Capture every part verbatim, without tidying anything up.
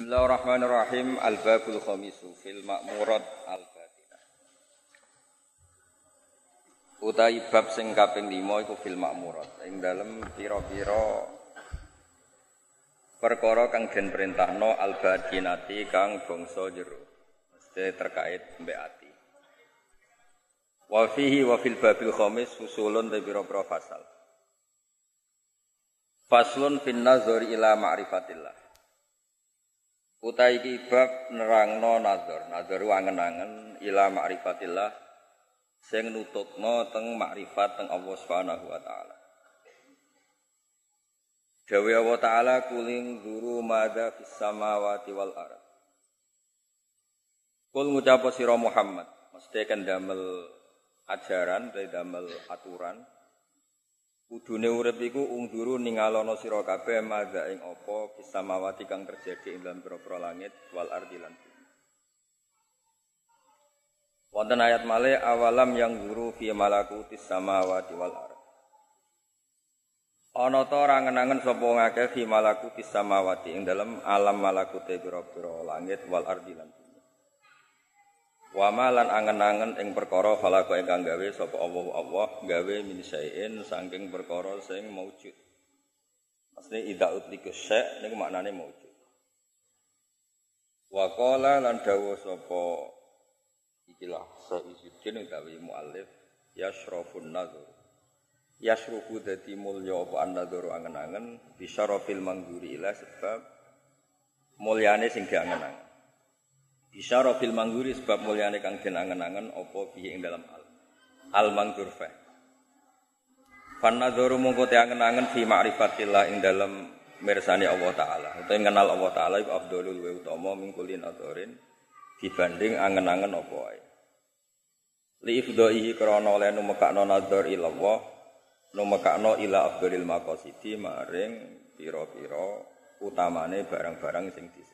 Bismillahirrahmanirrahim. Al-babul khamisu fil ma'murat al-batinah. Utai bab sing kaping lima iku fil ma'murat. Ing dalem pira-pira perkara kang den perintahno al-batinati kang bangsa jero. Mesti terkait mbek ati. Wa fihi wa fil babil khamis fusulun te pira-pira fasal. Faslun fin nazari ila ma'rifatillah. Utai iki bab nerangno nazar, nazar wangen-angen ila ma'rifatillah sing nutupno teng makrifat teng Allah Subhanahu wa taala. Dawe Allah taala kuling guru madza fis samawati wal ardh. Kul ngucap sira Muhammad, mesti kan damel ajaran, damel aturan. Kudune urip iku ungduru ningalono sira kabeh madza ing apa bisamawati kang terjadi ing dalam pira-pira langit wal ardi lan bumi. Wonten ayat malih awalam yang guru fi malakutis samawati wal ardh. Ana ta ora ngenangen sapa ngakeh fi malakutis samawati ing dalam alam malakute pira-pira langit wal ardi lan bumi. Wa malan angen-angen ing perkara falaka ingkang gawe sapa Allah Allah gawe min syai'in saking perkara sing maujud. Maksudnya idza utlikus syai' niku maknane maujud. Wa qala lan dawuh sapa ikilah Sayyidin utawi muallif yashrafun nazar. Yashrufu dadi mulya apa an-nazar angen-angen bisyarafil mangguri ila sebab mulyane sing diangen-angen. Isyara fil mangguri sebab mulyane kang den angen-angen apa piye ing dalam al al mangdur fa. Fan nadzaru mongko te angen-angen fi ma'rifatillah ing dalam mirsani Allah taala. Utawa kenal Allah taala iku afdhalul wa utama min kullin adzarin dibanding angen-angen apa wae. Li ifdha'ihi krana oleh numekakno nadzar ila Allah, numekakno ila afdhalil maqasidi maring pira-pira utamane barang-barang sing disebut.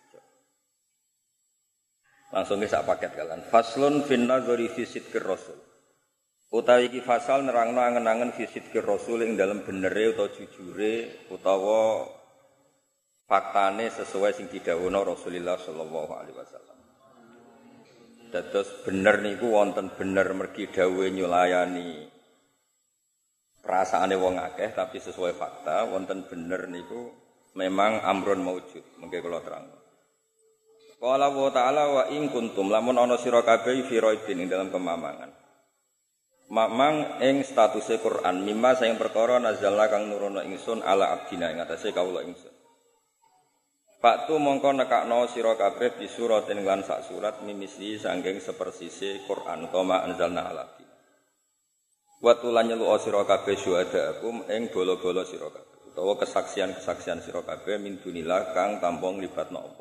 Langsung ke sak paket kalian. Faslun fin nazari fi sidqir rasul. Utawi iki fasal nerangno angen-angen fi sidqir rasul ing dalem benere utawa jujure utawa faktane sesuai sing didhawuhna Rasulullah sallallahu alaihi wasallam. Dados bener niku wonten bener mergi dawuhe nyulayani perasaane wong akeh tapi sesuai fakta, wonten bener niku memang amrun maujud. Mengke kula terangno. Qala wa ta'ala wa in kuntum lamun ana sira kabeh fi raibin ing dalam kemamangan. Mamang ing statuse Quran mimma sing perkara nazalna kang nurono ingsun ala abdina ing atase kawula ingsun. Faktu mongko nekakno sira kabeh bi suratin lan sak surat mimisli saking sepersise Quran koma anzalna ala abdina. Wa tulan nyelu sira kabeh syuhadaakum ing bolo-bolo sira kabeh utawa kesaksian-kesaksian sira kabeh min dunillah kang tanpa nglibatno apa.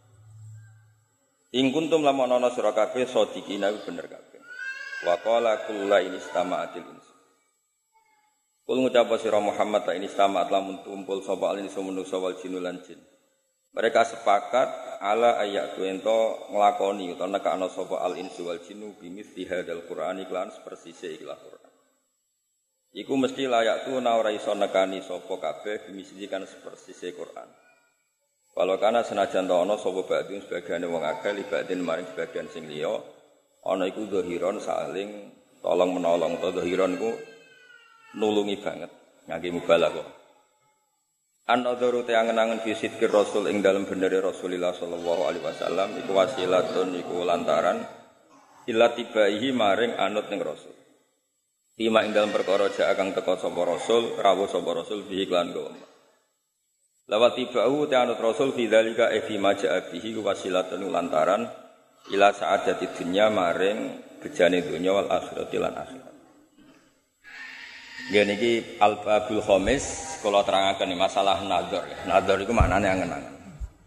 In kuntum lamun ana sira kabeh sadiqina bener kabeh. Wa qala kullu in istama'atil ins. Kul ngucap sira Muhammad ta in istama'at lamun tumpul sapa alin sumunuksa wal jinul lan jin. Mereka sepakat ala ayatu ento nglakoni utawa nekakno sapa al insu wal jinnu bimithli hadzal qur'ani lan persise ikhlas Qur'an. Iku mesti layak tu ora iso nekani sapa kabeh bimithli kan persise Qur'an. Walau kana senajan ta ana sapa badhe sebagiane wong akeh libadin maring sebagian sing liya ana iku zahiron saling tolong menolong to zahiron iku nulungi banget ngangge mubalaghah. An-nadzaru te angen-angen fi sidqir rasul ing dalem benere Rasulullah sallallahu alaihi wasallam iku wasilatun iku lantaran ila tibaihi maring anut ning rasul. Tima ing dalem perkara jak kang teka sapa rasul rawuh sapa rasul bi iklan go. Lawat tibau ta'anut rasul fi dzalika e fi maja'a bihi wasilatun lantaran ila sa'adati dunya maring bejane dunya wal akhirati lan akhirat. Nggih niki al-babul khamis kula terangaken masalah nazar. Nazar iku maknane angen-angen.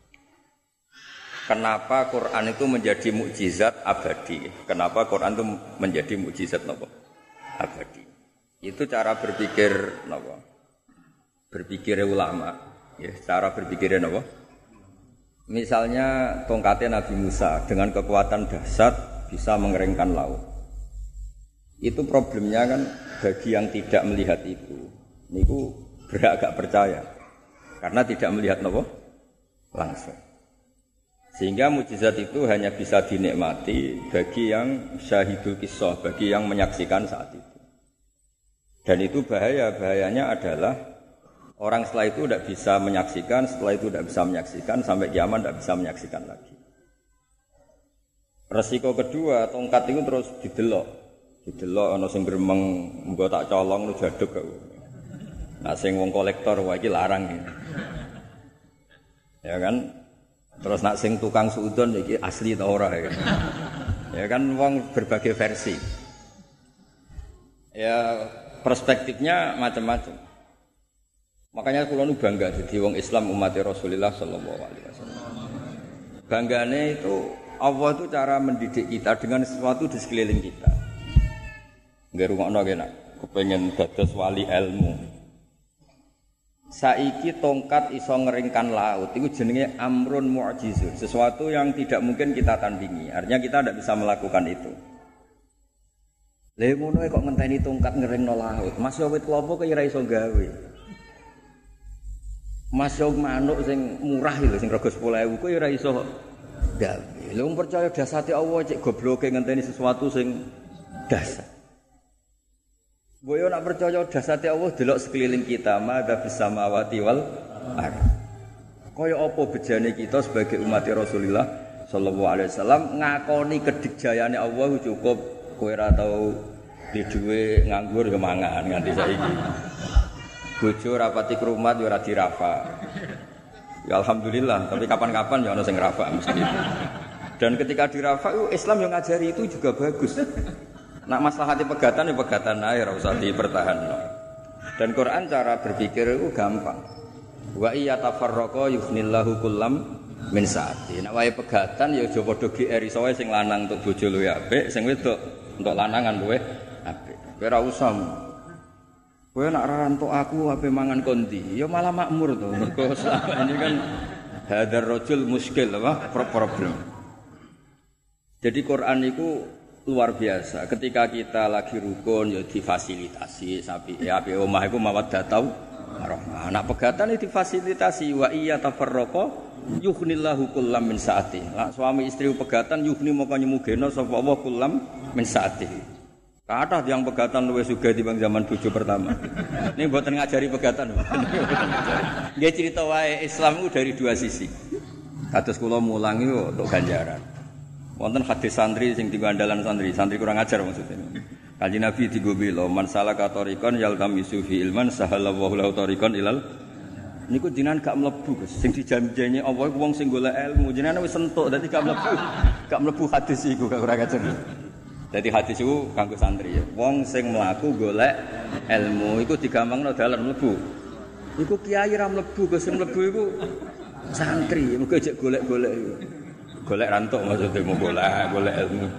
Kenapa Quran itu menjadi mukjizat abadi? Kenapa Quran itu menjadi mukjizat napa? Abadi. Itu cara berpikir napa? Berpikir ulama. Ya, cara berpikirnya apa? Misalnya tongkatnya Nabi Musa dengan kekuatan dahsyat bisa mengeringkan laut. Itu problemnya kan bagi yang tidak melihat itu, niku beragak percaya karena tidak melihat apa? Langsung. Sehingga mukjizat itu hanya bisa dinikmati bagi yang syahidul kisah, bagi yang menyaksikan saat itu. Dan itu bahaya, bahayanya adalah orang setelah itu tidak bisa menyaksikan, setelah itu tidak bisa menyaksikan, sampai kiamat tidak bisa menyaksikan lagi. Resiko kedua, tongkat itu terus didelok. Didelok, ada yang beremeng, mbak tak colong, lu jaduk. Nah, sing wong kolektor, wah ini larang. Ya, ya kan? Terus nak sing tukang suudon, ini asli atau ora. Ya, ya kan, wong berbagai versi. Ya, perspektifnya macam-macam. Makanya kula nu bangga jadi wong Islam umat Rasulullah sallallahu alaihi wasallam. Banggane itu Allah itu cara mendidik kita dengan sesuatu di sekeliling kita. Nggak rungokno kena, kepengen dados wali ilmu. Saiki tongkat iso ngeringkan laut, itu jenenge amrun mu'jizun, sesuatu yang tidak mungkin kita tandingi. Artinya kita tidak bisa melakukan itu. Lha ngono kok ngenteni tongkat ngeringno laut. Mas yo wit klopo kok ora iso gawe. Mas yo manuk sing murah lho sing rega sepuluh ribu kok ora iso gawe. Lha wong percaya dasate Allah cek gobloke ngenteni sesuatu sing dasar. Boyo nak percaya dasate Allah delok sekeliling kita, madza fis samawati wal ardh. Kaya apa bejane kita sebagai umat Rasulullah sallallahu alaihi wasallam ngakoni kedikjayane Allah cukup kowe ora tau di dhuwit nganggur ya mangan nganti saiki. Bojo rapati krumat ya ora dirafa. Ya alhamdulillah, tapi kapan-kapan ya ana sing rafa mesti. Dan ketika dirafa Islam yang ngajari itu juga bagus. Nak maslahati pegatan ya pegatan ae ora usah dipertahanno. Dan Quran cara berpikir itu gampang. Wa iya tafarraqa yughnillahu kullam min sa'ati. Nek wae pegatan ya aja padha G R iso wae sing lanang untuk bojo luwih apik, sing wedok untuk lanangan luwih apik. Kowe ora usah. Kowe nek ora entuk aku ape mangan kondi, ya malah makmur to. Mergo selama ini kan hadar rajul muskil apa problem. Jadi Quran itu luar biasa. Ketika kita lagi rukun ya difasilitasi sapi ya ape omah iku mawaddatau warahmah. Anak pegatan itu difasilitasi wa iya tafarraqa yughnillahu kullam min saati. Lah suami istri pegatan yughni moko nyemugeno sapa Allah kullam min saati. Kathah tiyang pegatan luwih sugih timbang zaman bojo pertama. Ini mboten ngajari pegatan. Nggih cerita wae Islam itu dari dua sisi. Kados kula mulang yo untuk ganjaran. Wonten hadis santri sing digandalan santri, santri kurang ajar maksudnya. Kanjeng Nabi digo bela man salaka tariqan yaltamisu fi ilman sahalallahu lahu tariqan ilal. Niku jenengan gak mlebu Gus. Sing dijanjeni Allah iku wong sing golek ilmu, jenengan wis entuk dadi gak mlebu. Gak mlebu hadis iku gak kurang ajar. Dadi hadis iku kanggo santri ya. Wong sing mlaku golek ilmu iku digampangno dalan mlebu. Iku kiai ra mlebu, Gus sing mlebu iku santri, muga jek golek-golek iku. Golek rantuk maksudnya mau golek golek ilmu.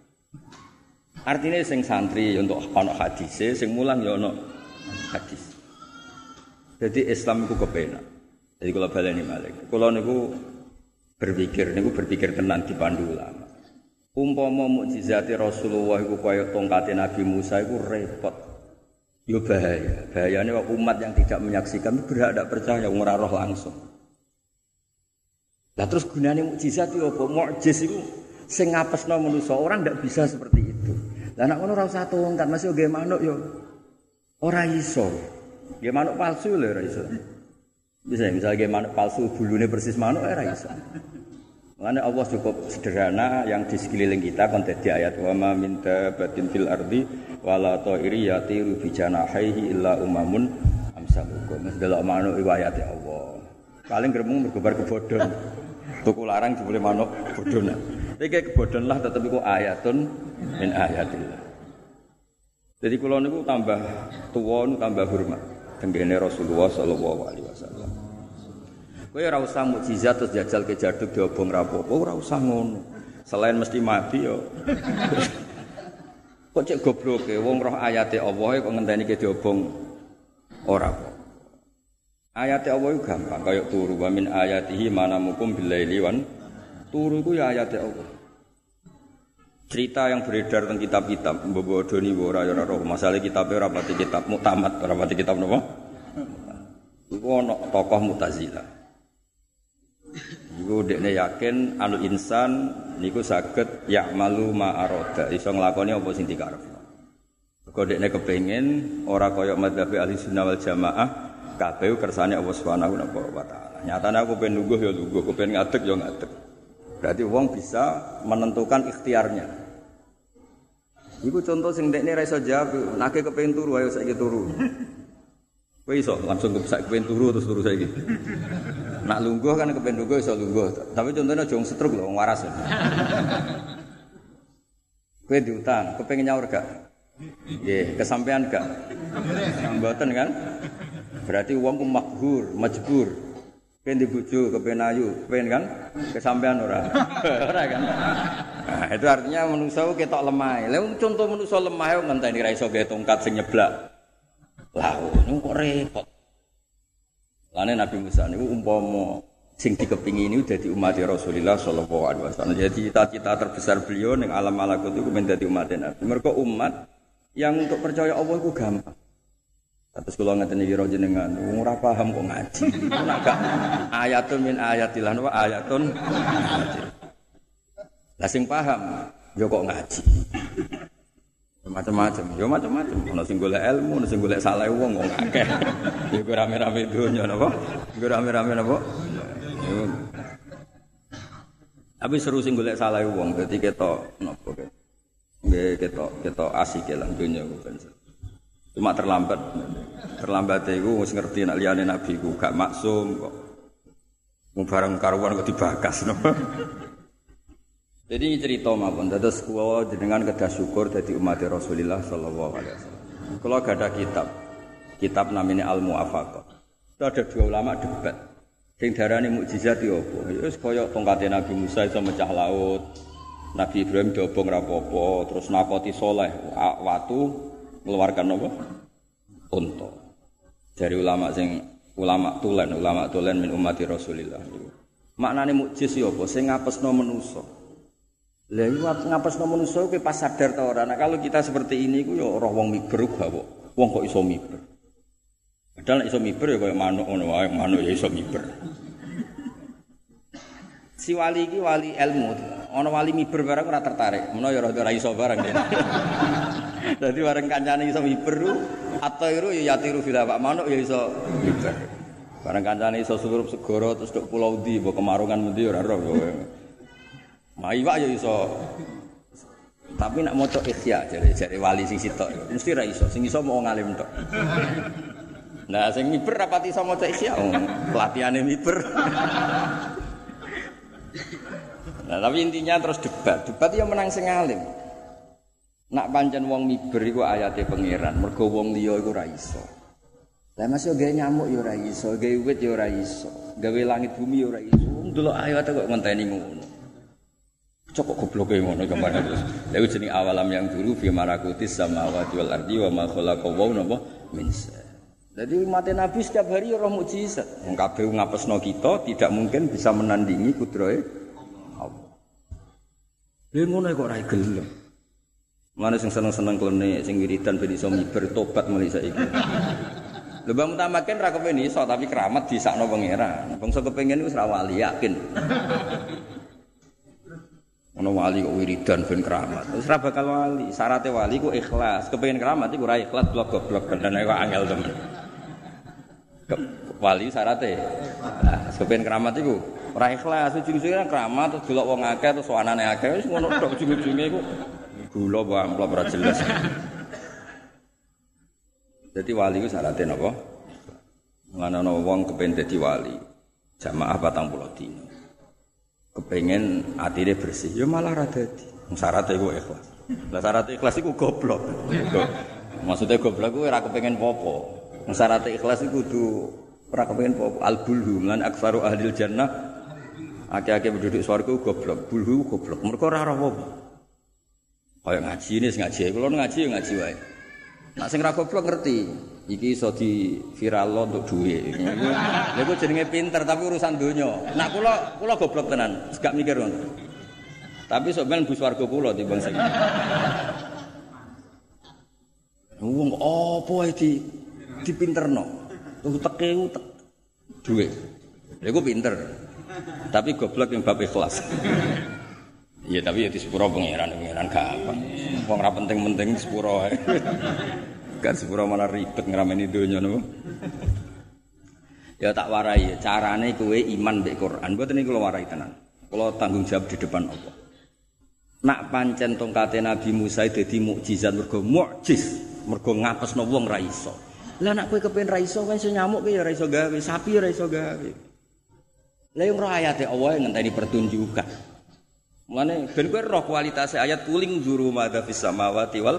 Artinya sing santri untuk ana hadise, sing mulang ya ana hadis. Jadi Islam itu kepenak. Jadi kalau baleni malih, kula niku berpikir niku berpikir tenan dipandu ulama. Umpama mukjizate Rasulullah iku kaya tongkate Nabi Musa iku repot. Yo bahaya. Bahayane umat yang tidak menyaksikan berhak tidak percaya ora roh langsung. Lah terus gunane mukjizat itu apa? Mukjiz itu sing ngapesno manusa, orang ndak bisa seperti itu. Lah nek ngono ora usah tongkat, masih nggih manuk yo ora iso. Nggih manuk palsu lho ora iso. Bisa misalnya nggih manuk palsu bulune persis manuk ora iso. Makanya Allah cukup sederhana yang di sekeliling kita kon dadi ayat wa ma min dabatin fil ardi wala ta'iri yatiru bi janahihi illa umamun amsalukum. Delok manuk iku ayate Allah. Paling gremeng mergo bar kebodhon. Tuku larang jebule manuk bodhon. Iki kebodhon lah tetep iku ayatun min ayatillah. Jadi kula niku tambah tuwa niku tambah hormat tenggene Rasulullah sallallahu alaihi wasallam. Kowe ora usah mukjizat terus jajal ke jaduk diobong rapopo, ora usah ngono. Selain mesti mati yo. Kok cek gobloke wong roh ayate Allah kok ngenteni ke diobong ora apa. Ayat Allah itu gampang, kayak turu wa min ayatihi manamukum billaili wan turu itu ya ayat Allah. Cerita yang beredar tentang kitab-kitab mbok doni ora ora roh, masalah kitab ora pati kitab muktamad, ora pati kitab napa? Iku ana tokoh Mu'tazilah. Iku dekne yakin al insan niku saged ya'malu ma arada, iso nglakoni apa sing dikarepno. Mergo dekne kepengin ora kaya madzhab ahli sunnah wal jamaah kabeh kersane Allah Subhanahu wa taala. Nyatane aku pengen lungguh ya lungguh, aku pengen ngadeg ya ngadeg. Berarti wong bisa menentukan ikhtiarnya. Iku contoh sing dekne ra iso jawab, nek kepengin turu ayo saiki turu. Kowe iso langsung kesak kepengin turu terus turu saiki. Nak lungguh kan kepen lungguh iso lungguh. Tapi contohnya aja wong setruk lho, wong waras. Kowe diutang, kepengin nyaur gak? Nggih, kesampean gak? Mboten kan? Berarti wong ku maghur, majbur. Kowe di bojo kepen ayu, kepen kan? Kesampean ora? Ora kan? Nah, itu artinya manusa ketok lemah. Lah contoh manusa lemah yo ngenteni ra iso gawe tongkat sing nyeblak. Lah, niku kok repot. Lane Nabi Musa niku umpama sing dikepingini dadi umat Rasulullah sallallahu alaihi wasallam. Jadi cita-cita terbesar beliau ning alam malakut iku men dadi umat Nabi. Mergo umat yang untuk percaya Allah iku gampang. Terus kula ngeten iki ro jenengan, ora paham kok ngaji. Iku nek gak ayatun min ayatillah wa ayatun. Lah sing paham yo kok ngaji. Macam-macam, yo macam-macam. Ono sing golek ilmu, ono sing golek saleh wong kok akeh. Iku rame-rame donya napa? Iku rame-rame napa? Tapi seru sing golek saleh wong, dadi ketok napa kek. Nggih ketok ketok asik lah donya ku. Cuma terlambat. Terlambat iku wis ngerti nek liyane nabi ku gak maksum kok. Mung bareng karuan kok dibakas napa? Jadi cerita mawon dados kula jenengan kedah syukur dadi umat Rasulullah sallallahu alaihi wasallam. Kula gadah kitab. Kitab namanya Al-Mu'afaqah. Itu ada dua ulama debat. Sing darani mukjizat yo apa? Ya wis kaya tongkate Nabi Musa iso mecah laut. Nabi Ibrahim diobong ra apa-apa, terus nakoti saleh watu ngeluarkan apa? Unta. Dari ulama sing ulama tulen, ulama tulen min umat Rasulullah. Maknane mukjiz yo apa? Sing ngapesno manusa. Lah iki ngapesno manusa kowe pas sadar ta ora? Nah, kalau kita seperti ini ku ya ora wong miber gak kok. Wong kok iso miber. Padahal nek iso miber ya kaya manuk ngono wae, manuk ya iso miber. Si wali iki wali ilmu. Ana wali miber bareng ora tertarik. Menawa ya ora iso bareng. Dadi bareng kancane iso miber atairu ya yatiru fil hawa, manuk ya iso miber. Bareng kancane iso surup segara terus tok pulau ndi, mbok kemarungan endi ora ora kowe. Maiwak ya iso. Tapi nak maca ikhya jare-jare wali sing sitok mesti ra iso, sing iso mau ngalim tok. Nah, sing miber rapati iso maca ikhya, pelatihane miber. Nah, tapi intinya terus debat. Debat ya menang sing alim. Nak pancen wong miber iku ayate pangeran, mergo wong liya iku ra iso. Lah Mas yo gawe nyamuk yo ora iso, gawe wit yo ora iso, gawe langit bumi yo ora iso. Ndelok ayate kok ngenteni ngono. Cokok gobloke ngono kemana terus. Lha iku jeneng awalam yang dulu fi malakutis samawati wal ardi wa ma khalaqaw napa min sa. Jadi umat Nabi setiap hari roh mukjizat. Wong kabeh ngapesno kita tidak mungkin bisa menandingi kudrahe Allah. Lha ngono kok ora gelem. Mane sing seneng-seneng klene sing wiridan ben iso miber tobat mulai saiki. Lha bang utamaken ra kepen iso tapi keramat disakno pangeran. Bangsa kepengin wis ra wali yakin. Ono wali kok wiridan ben keramat. Wis ora bakal wali. Syaratnya wali ku ikhlas. Kepengin keramat iku ora ikhlas blok goblok bener kok angel temen. Wali syaratnya. Nah, kepengin keramat iku ora ikhlas. Ujung-ujunge keramat terus delok wong akeh terus wanane akeh wis ngono tok ujung-ujunge iku gula amplop ora jelas. Dadi wali ku syaratnya napa? Ngono ana wong kepengin dadi wali. Jamaah patang puluh dina. Kepengen atine bersih, ya malah ra dadi. Syaratnya iku ikhlas. Lah syarat ikhlas iku goblok. Maksudnya goblok kuwi ora kepengen apa-apa. Syarat ikhlas iku kudu ora kepengen apa-apa. Al-bulhu lan aktsaru ahlil jannah. Akeh-akeh penduduk swarga goblok. Bulhu goblok. Mergo ora ora apa-apa. Kaya ngaji ini sing ngaji. Kulo ngaji ya ngaji wae. Nek sing ra goblok ngerti. Iki iso di viral untuk duit. Lha iku jenenge pinter tapi urusan donya. Nak kula kula goblok tenan, gak mikir ngono. Tapi sok ben bus warga kula timbang sing. Wong apa wae di dipinterno. Uteke utek duit. Lha iku pinter. Tapi goblok yang bab ikhlas. Iya tapi ya di sepuro pangeran, pangeran gampang. Wong ora penting-penting sepuro ae. Kan sepuro malah ribet ngrameni donya napa. Ya tak warai, carane kowe iman mbek Quran. Mboten niku kula warai tenan. Kula tanggung jawab di depan Allah. Nak pancen tongkate Nabi Musa dadi mukjizat mergo mukjiz, mergo ngapesno wong ra iso. Lah nek kowe kepen ra iso kowe iso nyamuk kowe ya ra iso gawe, sapi ya ra iso gawe. Lah yang roh ayate Allah ngenteni pertunjukan. Mulane ben kowe roh kualitas ayat kuling juru madza fis samawati wal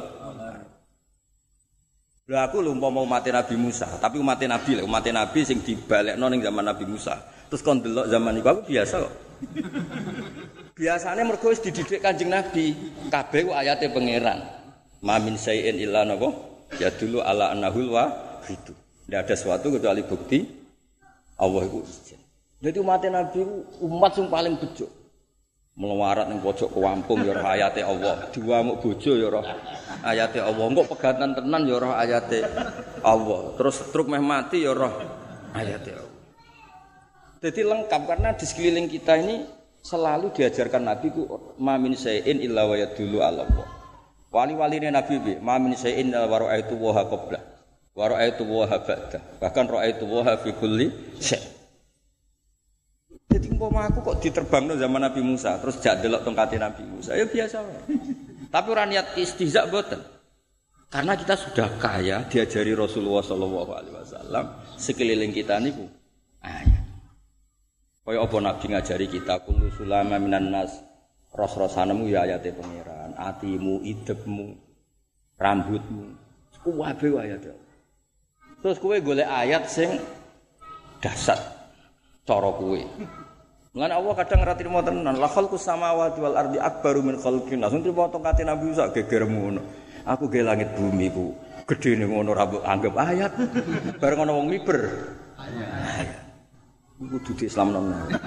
Lah aku lho umpama umat Nabi Musa, tapi umat Nabi lho, umat Nabi sing dibalekno ning zaman Nabi Musa. Terus kon delok zaman iku aku biasa kok. Biasane mergo wis dididik Kanjeng Nabi, kabeh ku ayate pangeran. Ma min syai'in illa napa? Ya dulu ala annahul wahid. Tidak ada sesuatu kecuali bukti Allah iku izin. Dadi umat Nabi umat sing paling bejo. Melawarat ning pojok kampung ya roh ayate Allah, diwamuk bojo ya roh ayate Allah, engko pegatan tenan ya roh ayate Allah, terus truk meh mati ya roh ayate Allah. Jadi lengkap karena di sekeliling kita ini selalu diajarkan Nabi ku ma min syai'in illa wa yadullu ala Allah. Wali-waline Nabi bi ma min syai'in illa wa ra'aitu wa qabla wa ra'aitu wa ba'da, bahkan ra'aitu wa fi kulli syai'. Jadi umpama aku kok diterbangno zaman Nabi Musa, terus jak delok tongkate Nabi Musa, ya biasa wae. Tapi ora niat istihza mboten. Karena kita sudah kaya diajari Rasulullah sallallahu alaihi wasallam, sekeliling kita niku ayat. Kaya apa Nabi ngajari kita kullu sulama minan nas, ros-rosanemu ya ayate pangeran, atimu, idepmu, rambutmu, kuwabe ayate. Terus kowe golek ayat sing dasar cara kowe. Lan Allah kadang ora trimo tenan, la khalqus samawati wal ardi akbaru min khalqin. Langsung trimo tongkate Nabi Musa gegermu ngono. Aku ge langit bumi ku gedene ngono ra mbok anggap ayat. Bareng ana wong miber. Ayat. Iku kudu Islamno.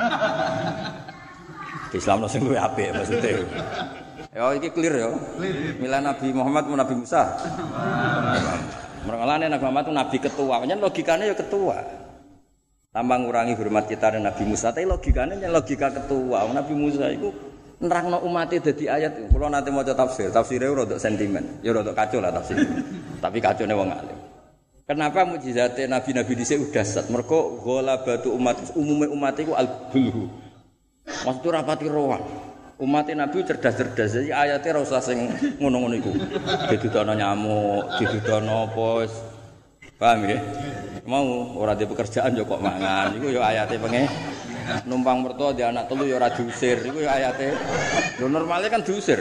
Islamno sing luwih apik maksude. Ya iki clear ya. Mila Nabi Muhammad Nabi Musa. Mergalane Nabi Muhammad itu nabi ketua, pancen logikane ya ketua. Tambah ngurangi hormat kita dengan Nabi Musa, tapi logikanya yang logika ketua. Nabi Musa itu nerangno umatnya dadi ayat. Kalau nanti mau tafsir, tafsirnya rodok sentimen, ya rodok kacau lah tafsir. Tapi kacau nih wong alim. Kenapa mukjizatnya Nabi-Nabi dhisik udah sat? Mergo ghalabatu umat umumnya umat itu al-bulhu. Maksudnya rapati rohan. Umatnya Nabi cerdas-cerdas, jadi ayatnya ora usah sing ngono-ngono iku. Didudono nyamuk, didudono apa. Paham ya? Mau ora di pekerjaan yo kok mangan. Iku yo ayate penge. Numpang mertua di anak telu yo ora diusir. Iku yo ayate. Lho normale kan diusir.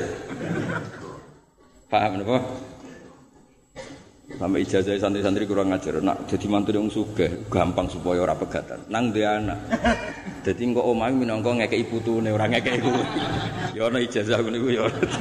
Paham napa? Sampai ijazah santri-santri kurang ajar. Nak dadi mantu wong sugih gampang supaya ora pegatan. Nang duwe anak. Dadi engko omahe minangka ngekeki putune ora ngekeki iku. Ya ana ijazah ngene iku yo.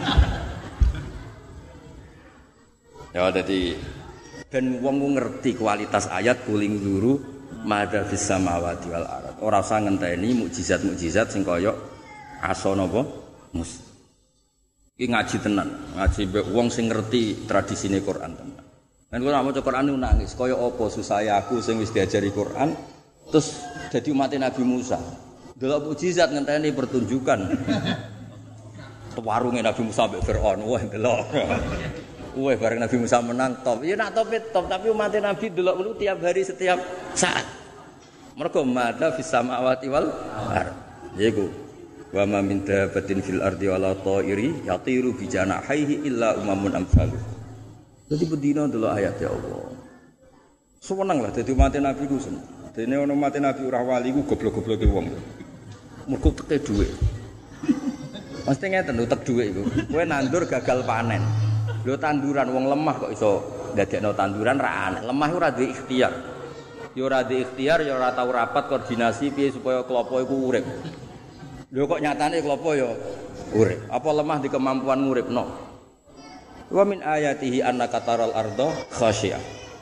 Ya dadi ben wong ngerti kualitas ayat kuling guru madza fis samawati wal ardh. Ora usah ngenteni mukjizat-mukjizat sing kaya asa napa mus. Iki ngaji tenan, ngaji mbek wong sing ngerti tradisine Quran tenan. Kan kula maca Quran niku nangis, kaya apa susah aku sing wis diajari Quran terus dadi umat Nabi Musa. Delok mukjizat ngenteni pertunjukan. Warunge Nabi Musa mbek Firaun, wah delok. Wah, bareng Nabi Musa menang top. Ya nak top top, tapi umat Nabi delok mulu tiap hari setiap saat. Mergo madza fis samawati wal ardh. Yaiku wa ma min dabbatin fil ardi wala ta'iri yatiru bi janahihi illa umamun amsalu. Dadi bedina delok ayat ya Allah. Seneng lah dadi umat Nabi ku seneng. Dene ana umat Nabi ora wali ku goblok-gobloke wong. Mergo teke dhuwit. Mesti ngeten utek dhuwit iku. Kowe nandur gagal panen. Lho tanduran wong lemah kok iso ndadekno tanduran ra aneh. Lemah ora duwe ikhtiar. Ya ora duwe ikhtiar ya ora tau rapat koordinasi piye supaya klopo iku urip. Lho kok nyatane klopo ya urip. Apa lemah di kemampuan nguripno? Wa min ayatihi annaka taral arda khasyiyah.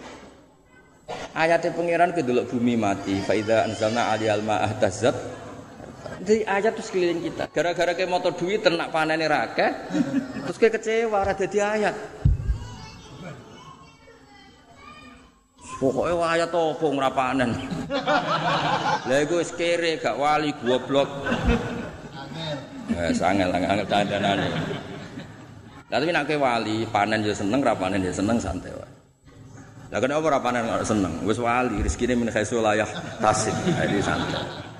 Ayate pangeran kedelok bumi mati, fa idza anzalna 'alal ma'a tazzat. Jadi ayat terus keliling kita. Gara-gara kayak motor duit ternak panennya rakeh, terus kayak kecewa, ada di ayat. Pokoke wayah topo ora panen. Lah iku wis kere gak wali goblok. Wes angel angel dandanane. Tapi nek wali panen ya seneng, ra panen ya seneng santai wae. Lah kenapa ora panen ora seneng? Wis wali rezekine min khaisu layah tasib. Jadi santai.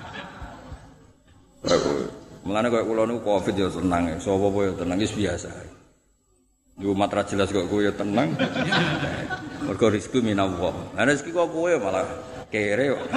Mulane koyo kula niku Covid ya seneng, sapa apa ya tenang wis biasa. Yo matra jelas kok kowe ya tenang. Mergo rezeki minallah. Lah rezeki kok kowe malah kere kok.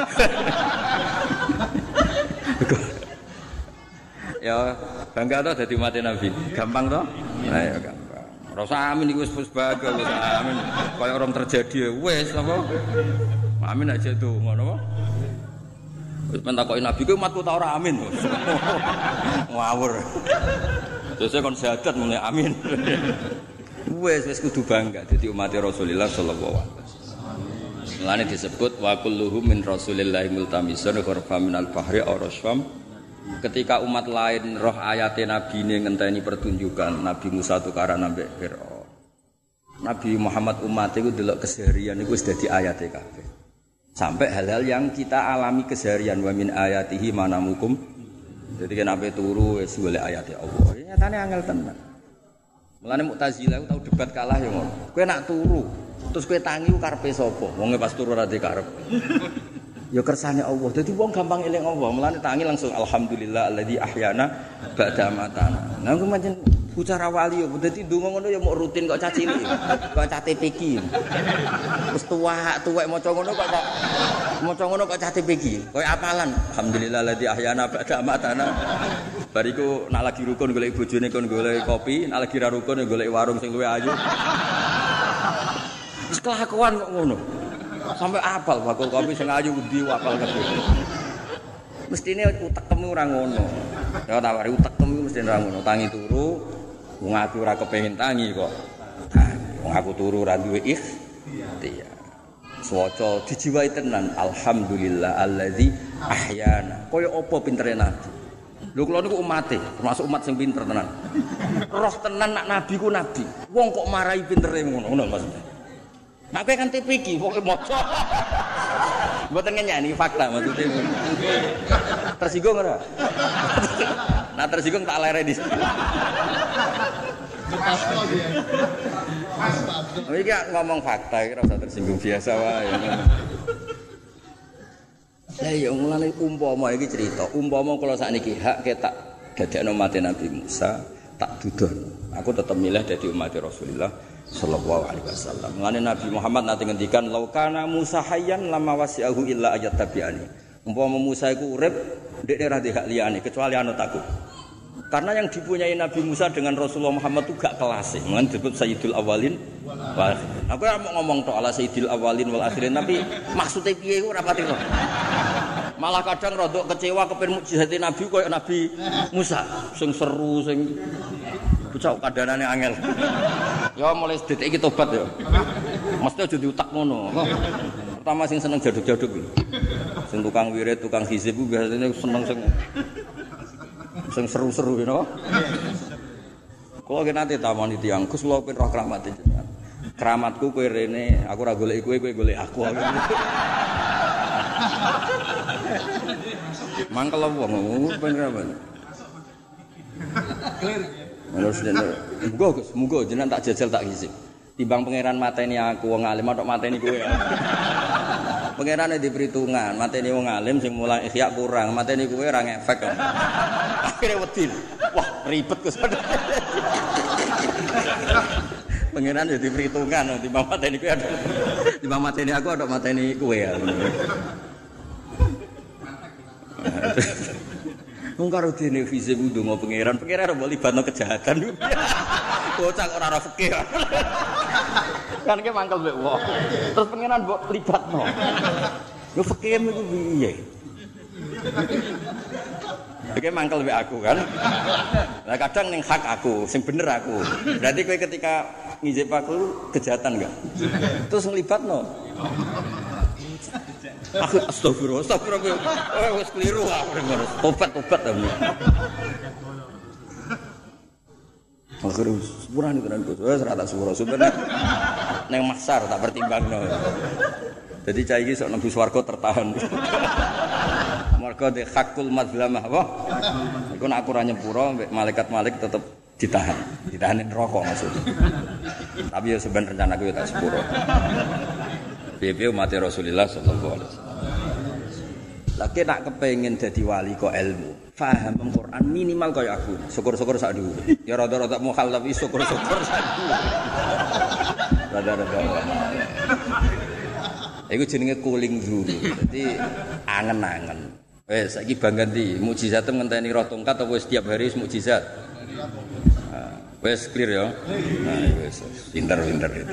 Ya bangga to dadi umat Nabi. Gampang to? Lah ya gampang. Rasa amin iku wis bagus wis amin. Kaya orang terjadi wis apa? Amin aja tuh ngono apa? Wis mentakoki Nabi ku umatku ta ora amin. Ngawur. Terus kon syahadat mulai amin. Wes wis kudu bangga dadi umat Rasulullah sallallahu alaihi wasallam. Mulane disebut wa kulluhum min Rasulillahi multamisun ghurfa minal bahri aw rasfam. Ketika umat lain roh ayate Nabi ini ngenteni pertunjukan Nabi Musa tukaran ambek Firaun. Nabi Muhammad umat itu delok keseharian iku wis dadi ayate kabeh. Sampai hal-hal yang kita alami keseharian wa min ayatihi manamukum. Jadi kan ape turu wis golek ayate Allah. Nyatane angel tenan. Mulane Mu'tazilah tau debat kalah ya ngono. Kowe nak turu, terus kowe tangi ku karepe sapa? Wong pas turu ora di karep. Ya kersane Allah. Dadi wong gampang eling Allah. Mulane tangi langsung alhamdulillah alladzi ahyana ba'da matana. Nah ku pancen bicara wali ya dadi ndonga ngono ya mok rutin kok cah cilik. Kok cah T P K. Wis tuwak, tuwek maca ngono kok cah maca ngono kok cah T P K. Koyo apalan alhamdulillah alladzi ahyana ba'da matana. Bariku nak lagi rukun golek bojone kon golek kopi, nak lagi ra rukun golek warung sing luwih ayu. Wis kelakuan kok ngono. Sampai apal bakul kopi sing ayu ndi apal kabeh. Mestine utekmu ora ngono. Ya tawari utekmu mesti ora ngono. Tangi turu, wong aku ora kepengin tangi kok. Wong aku turu ora duwe ikhtiar. Swaca dijiwai tenan alhamdulillah allazi ahyana. Kaya apa pintere Nabi. Lho kula niku umate, termasuk umat sing pinter tenan. Roh tenan nak nabi ku nabi. Wong kok marahi pintere ngono, ngono maksudnya. Nak kowe kan T P K, pokoke maca. Mboten ngenyani fakta maksudnya. Tersinggung ora? Nah tersinggung tak lereni. Iki ngomong fakta iki ora usah tersinggung biasa wae. Lah ya mulane umpama iki cerita, umpama kula sakniki hak ketak dadekno umat Nabi Musa, tak dudono. Aku tetep milih dadi umat Rasulullah sallallahu alaihi wasallam. Mulane Nabi Muhammad nate ngendikan laukana Musa hayyan lama wasi'ahu illa ayat tabi'ani. Umpama Musa iku urip, ndekne ra ndek hak liyane kecuali anut aku. Karena yang dipunyai Nabi Musa dengan Rasulullah Muhammad itu gak kelas. Mulane disebut Sayyidul Awalin wal Akhirin. Aku ora mau ngomong tok ala Sayyidul Awalin wal Akhirin, tapi maksudnya piye iku ora pati kok. Malah kadang rodok kecewa kepen mukjizat Nabi koyo Nabi Musa, sing seru sing bocah kadanane angel. Ya mulai detik iki tobat ya. Mesti aja diutak ngono. Pertama sing seneng jaduk-jaduk iki. Sing tukang wirid, tukang hizib ku biasane seneng sing sing seru-seru you know? Kalau kita nanti tamani tiang, kus lo pun roh keramat itu. Keramatku kue rene, aku ora golek kue, kue golek aku. Mangkel apa ngomong pun keramat. Menurut jenengan, muga Gus, muga jenengan tak jajal tak hisib. Timbang pangeran mateni aku wong alim tok mateni kowe. Pangerane di perhitungan, mateni wong alim sing mulai ikhya kurang, mateni kowe ora ngefek kok. Akhire wedi. Wah, ribet Gus. Pangeran di perhitungan, timbang mateni kowe ada. Timbang mateni aku ada mateni kowe ya. Wong karo dene vise kudu ngo pangeran, pangeran mbok libatno kejahatan. Bocah ora ora fikih. Kan ki mangkel mbek wong. Terus pangeran mbok libatno. Yo fikih iku piye? Iki mangkel mbek aku kan. Lah kadang ning hak aku, sing bener aku. Berarti kowe ketika ngijip aku kejahatan enggak? Terus nglibatno. Aku astagfirullah, astagfirullah. Oh, wis keliru aku dengar. Tobat-tobat ta. Akhire sepurane tenan Gus. Wis ra tak sepuro. Sebenarnya ning maksar tak pertimbangno. Jadi cah iki sok nembus swarga tertahan. Mergo de hakul madzlamah apa? Iku nek aku ora nyepuro malaikat-malaikat tetep ditahan. Ditahanin rokok maksudnya. Tapi ya sebenarnya rencana aku ya tak sepuro. Piye-piye umat Rasulullah sallallahu alaihi wasallam. Lagi nak kepengin dadi wali kok ilmu, paham Al-Qur'an minimal kaya aku. Syukur-syukur sak dhuwur. Ya rada-rada mukhal tapi syukur-syukur sak dhuwur. Rada-rada. Iku jenenge kuling dulu. Dadi angen-angen. Wes saiki bang ganti mukjizat ngenteni roh tongkat apa wis tiap hari mukjizat. Nah, wes clear ya. Nah, wes pinter-pinter itu.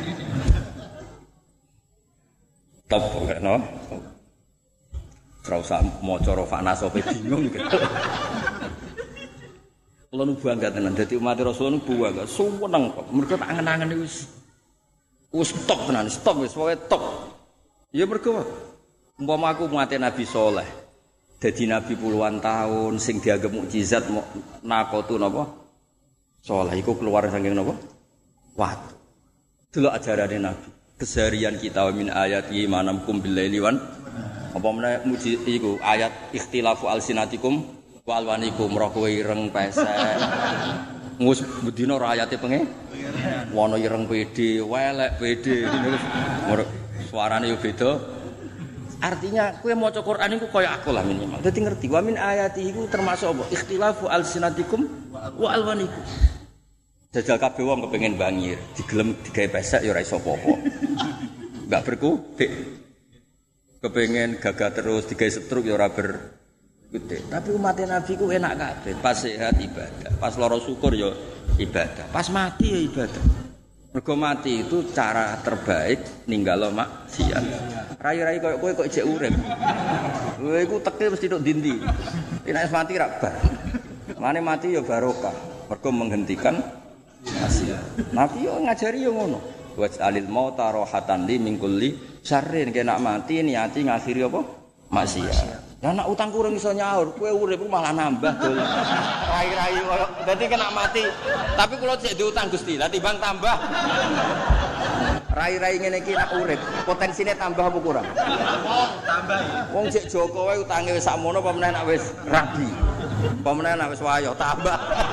Top kok no. Ora usah maca rofana sope bingung gitu. Kulo nu bangga tenan dadi umat Rasul nu bangga. Suweneng kok. Mergo tak angen-angen wis wis top tenan, stop wis pokoke top. Ya mergo umpama aku umat Nabi Saleh dadi nabi puluhan tahun sing dianggap mukjizat nakotu napa? Saleh iku keluar saking napa? Watu. Delok ajarane Nabi. Keseharian kita min ayati manamkum billaili wan apa meneh muji iku ayat ikhtilafu alsinatikum wa alwanikum roh kowe ireng pesek. Ngus bedina ora ayate penge. Wono ireng pede, welek pede. Suarane yo beda. Artinya kowe maca Quran iku kaya aku lah minimal. Dadi ngerti wa min ayati iku termasuk apa? Ikhtilafu alsinatikum wa alwanikum. Jajal kabeh wong kepengin bangir, digelem digawe pesek ya ora iso apa-apa. Enggak berkutik. Kepengin gagah terus digawe setruk ya ora berkutik. Tapi umat Nabi ku enak kabeh, pas sehat ibadah, pas lara syukur ya ibadah, pas mati ya ibadah. Mergo mati itu cara terbaik ninggalo maksiat. Rai-rai koyo kowe kok jek urip. Kowe iku teke mesti tok ndi-ndi. Nek mati ra bar. Mane mati ya barokah. Mergo menghentikan maksiat. Nabi yo ngajari yo ngono. Waj'alil mauta rohatan li min kulli syarrin. Nek mati niati ngakhiri apa? Maksiat. Lah nek utang kurang iso nyaur, kowe urip malah nambah dol. Rai-rai koyo dadi kena mati. Tapi kula cek diutang Gusti, lah timbang tambah. Rai-rai ngene iki nek urip, potensine tambah apa kurang? Tambah. Wong cek Joko wae utange wis sakmono apa meneh nek wis rabi. Apa meneh nek wis wayo tambah.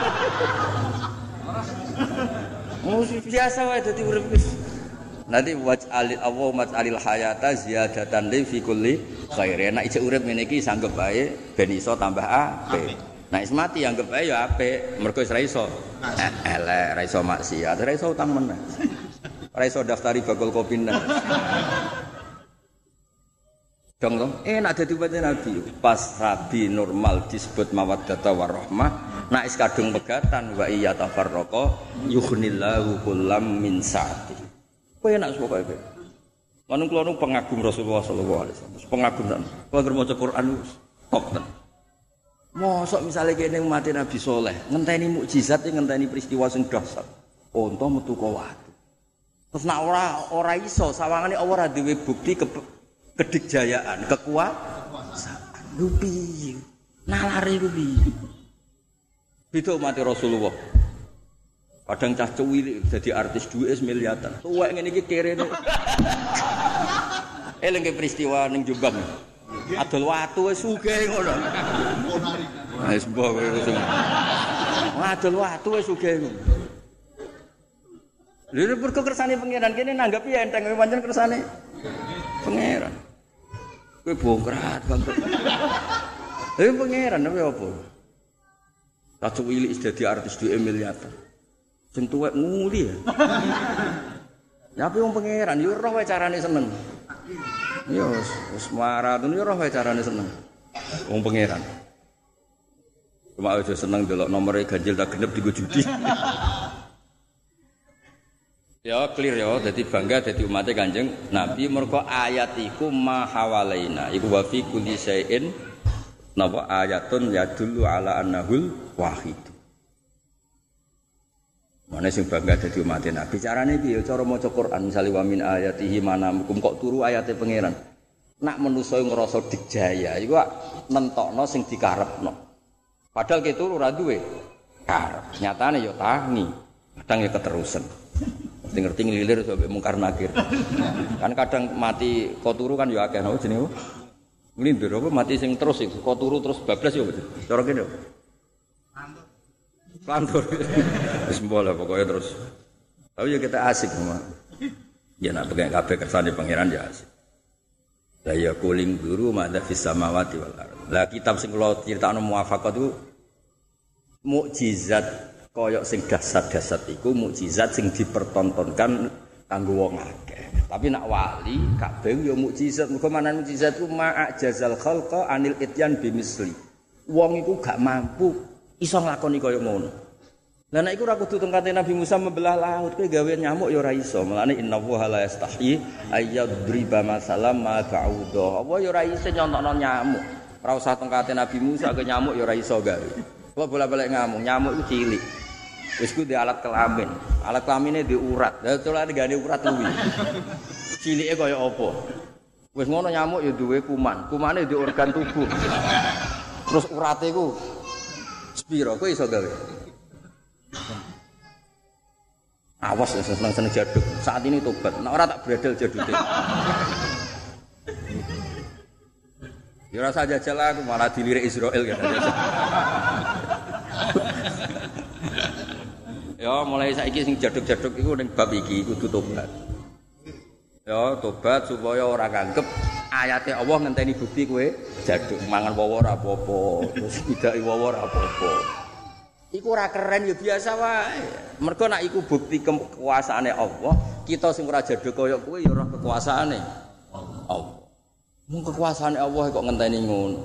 Musi biasa wae dadi urip wis. Nanti waj'alil Allah waj'alil hayata ziyadatan li fi kulli khair. Nek ijek urip ngene iki sanggep bae ben iso tambah apik. Nek wis mati anggap bae ya apik, mergo wis ra iso elek, ra iso maksiat, ra iso utang meneh. Ora iso daftari bakul kopine. Dong dong, enak dadi umat Nabi. Pas rabi normal disebut mawaddata warahmah, nek is kadung pegatan wa iya tafarraqa yughnillahu kullam min sa'ati. Kowe enak pokoke kowe. Manung kula nu pengagum Rasulullah sallallahu alaihi wasallam. Pengagum tenan. Kalau maca Quran top tenan. Mosok misale kene umat Nabi Saleh, ngenteni mukjizat ngenteni peristiwa sing dahsyat. Unta metu ka watu. Terus nek ora ora iso sawangane ora duwe bukti ke, kedikjayaan, kekuasaan. Lho piye? Nalare ku piye? Beda umat Rasulullah. Kadang cah cuwili dadi artis duwe miliaran. Tuwek ngene iki kerene. Eling peristiwa ning Jombang. Adol watu wis sugih ngono. Wis mbok wis. Adol watu wis sugih ngono. Lha perko kersane pangeran kene nanggapi enteng pancen kersane pangeran. Kowe bongkrat bangkrut. Lha pangeran apa apa? Cah cuwili is dadi artis duwe miliaran. Sing tuwek nguli ya. Nyapi wong pangeran yo roh wae carane seneng. Yo wis maratun yo roh wae carane seneng. Wong pangeran. Cuma aja seneng delok nomere ganjil tak genep digo judi. Ya clear ya, dadi bangga dadi umate Kanjeng Nabi mergo ayat iku mahawalaina. Iku wa fi kulli syai'in napa ayatun yadullu ala annahul wahid. Mana sing bangga dadi umat Nabi carane piye cara maca Quran misale wa min ayatihi manamkum kok turu ayate pangeran nak manusa ngrasa digjaya iku nentokno sing dikarepno padahal ki turu ora duwe karep nyatane ya tangi kadang ya keterusan ngerti ngelilir sampai mungkar nakir. Kan kadang mati kok turu kan ya akeh napa jenenge. Nglindur apa mati sing terus iku kok turu terus bablas ya betul. Cara kene. Plantur. Wis mbol pokoke terus. Tapi ya kita asik sama. Ya nak pegang kabeh kersane pangeran ya asik. Lah ya kuling guru madza fis samawati wal ardh. Lah kitab sing kula critakno muwafaqat itu mukjizat koyok sing dasar-dasar iku mukjizat sing dipertontonkan kanggo wong akeh. Tapi nak wali kabeh ya mukjizat. Mergo manan mukjizat ku ma'ajazal khalqa anil ityan bimisli. Wong iku gak mampu iso nglakoni koyo ngono. Lah nek iku ora kudu tengkate Nabi Musa membelah laut, kowe gawe nyamuk ya ora iso. Mulane innallaha la yastahi ayyadriba masalam ma ba'udha. Apa ya ora iso nyontokno nyamuk. Ora usah tengkate Nabi Musa ke nyamuk ya ora iso gawe. Kok bola-balik ngamuk, nyamuk iku cilik. Wis ku di alat kelamin. Alat kelamine di urat. Lah coba digane urat kuwi. Cilike kaya apa? Wis ngono nyamuk ya duwe kuman. Kumane di organ tubuh. Terus urate iku sepiro kowe iso gawe? Awas ya seneng-seneng jaduk. Saat ini tobat. Nek ora tak bredel jadute. Ya rasa jajal aku malah dilirik Israel kan. Ya mulai saiki sing jaduk-jaduk iku ning bab iki kudu tobat. Ya tobat supaya ora kanggep ayate Allah ngenteni bukti kowe jaduk mangan wawa ora apa-apa, terus bidaki wawa ora apa-apa. Iku ora keren ya biasa wae. Mergo nek iku bukti kekuasaane Allah, kita sing ora jaduk kaya kowe ya ora kekuasaane Allah. Mung kekuasaane Allah kok ngenteni ngono.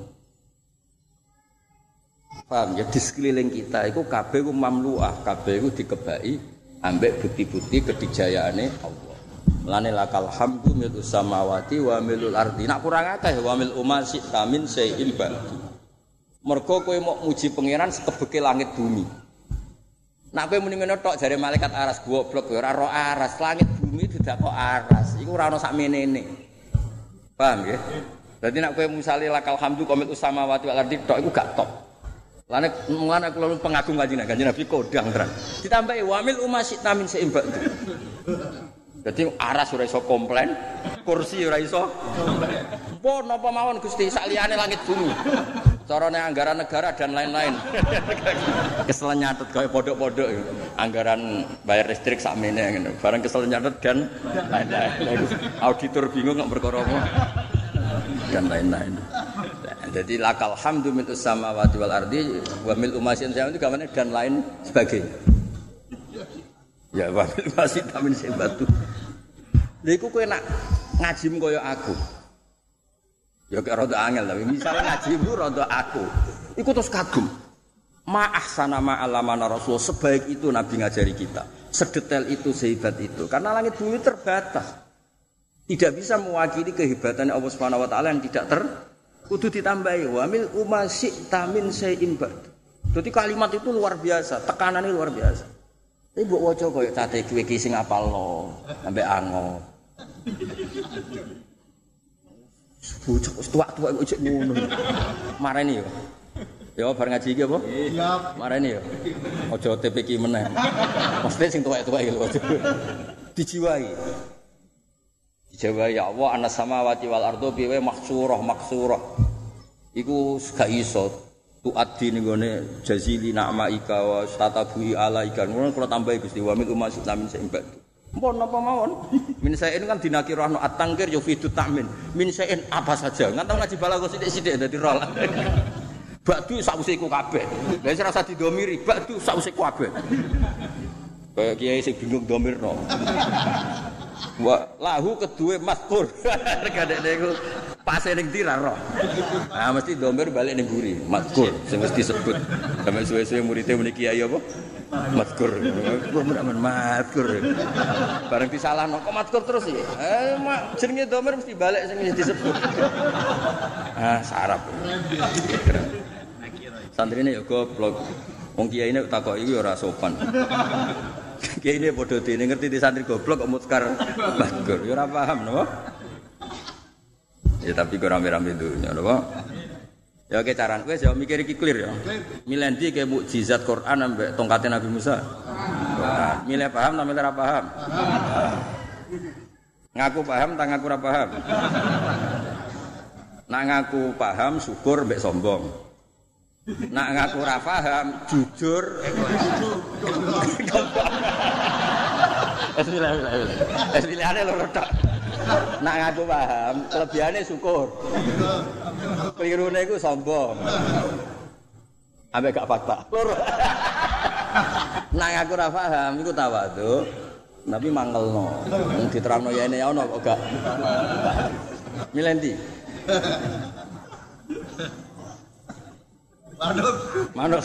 Paham ya di sekeliling kita iku kabeh ku mamluah, kabeh ku dikebaki ambek bukti-bukti kedijayaane Allah. Mulane lakal hamdu mil samawati wa milul ardi. Nak kurang akeh wa mil umasi tamin sayin ba'du. Mergo kowe mau muji pangeran sekebeke langit bumi. Nak kowe muni ngono tok jare malaikat aras goblok ora ro aras, langit bumi tidak kok aras. Iku ora ono sak menene. Paham nggih? Dadi nak kowe misale lakal hamdu qamil samawati wal ardi tok iku gak tok. Lane mulane kula pengagung kanjeng Kanjeng Nabi kodang terang. Ditambahi wamil umasi tamin seimbang. Dadi aras ora iso komplain, kursi ora iso komplain. Apa napa mawon Gusti sak liyane langit bumi. Carane anggaran negara dan lain-lain. Kesel nyatet kaya pondok-pondok anggaran bayar listrik sakmene ngono. Bareng kesel nyatet dan lain-lain. Auditor bingung nek perkara apa. Dan lain-lain. Jadi lakal hamdu min samawati wal ardi wa mil umasin itu gamane dan lain sebagainya. Ya wa mil umasin tamin sebatu. Lha iku kowe nak ngaji kaya aku. Ya kok rada angel tapi misalnya ngajimu rada aku. Iku terus kagum. Ma ahsana ma alamana rasul sebaik itu Nabi ngajari kita. Sedetail itu, sehebat itu. Karena langit bumi terbatas. Tidak bisa mewakili kehebatan Allah Subhanahu wa taala yang tidak ter kudu ditambahi wa mil umasi tamin sayin ba'd. Dadi kalimat itu luar biasa, tekanannya luar biasa. Tapi mbok waca koyo cate kowe iki sing apalno sampai angop. Bocah wis tuwak-tuwak kok cek ngono. Mareni yo. Ya bar ngaji iki apa? Iya. Mareni yo. Aja T P ki meneh. Mesti sing tuwak-tuwak iki lho. Dijiwai. Dijiwai ya Allah anas samawati wal ardo biwe maksurah maksurah. Iku gak iso tuaddi ning gone jazili na'maika wa tatabuhi alaika. Ngono kula tambahi Gusti wa min umasit lamin seimbang. Mpun napa mawon? Min saen kan dinakirahno at-tangkir ya fitu ta'min. Min saen apa saja. Nganti ngaji balaghah sithik-sithik dadi rol. Ba'du sakwise iku kabeh. Lah wis rasa didomiri, ba'du sakwise iku kabeh. Kayak kiai sing bingung domirno. Wa lahu kedue mazkur. Kadene iku pase ning ndi ra roh. Ah mesti domir balik ning guri, mazkur sing mesti disebut. Sampe suwe-suwe murid-e muni kiai apa? Mazkur. Kok men mazkur. Bareng disalahno kok mazkur terus iki. Eh jenenge domir mesti balik sing disebut. Ah sarap. Santrine ya goblok. Wong kiyaine takoki iku ora sopan. Kiyaine padha dene ngerti di santri goblok kok mutkar mazkur. Ya ora paham napa? Ya tapi kok rame-rame dunya napa? Ya oke caran kowe jawab mikir iki clear ya. Milendi ke mukjizat Quran ambek tongkate Nabi Musa. Quran. Milih paham ta milih ora paham? Ngaku paham ta ngaku ora paham? Nak ngaku paham syukur mbek sombong. Nak ngaku ora paham jujur. Bismillah. Bismillahane loro tok. Nak ngaku paham, kelebihane syukur. Klirune iku sombong. Ambek gak fakta. Loro. Nak ngaku ora paham iku tawadhu, tapi mangelno. Wong diterangno yene ana kok gak. Milih ndi? Manut. Manut.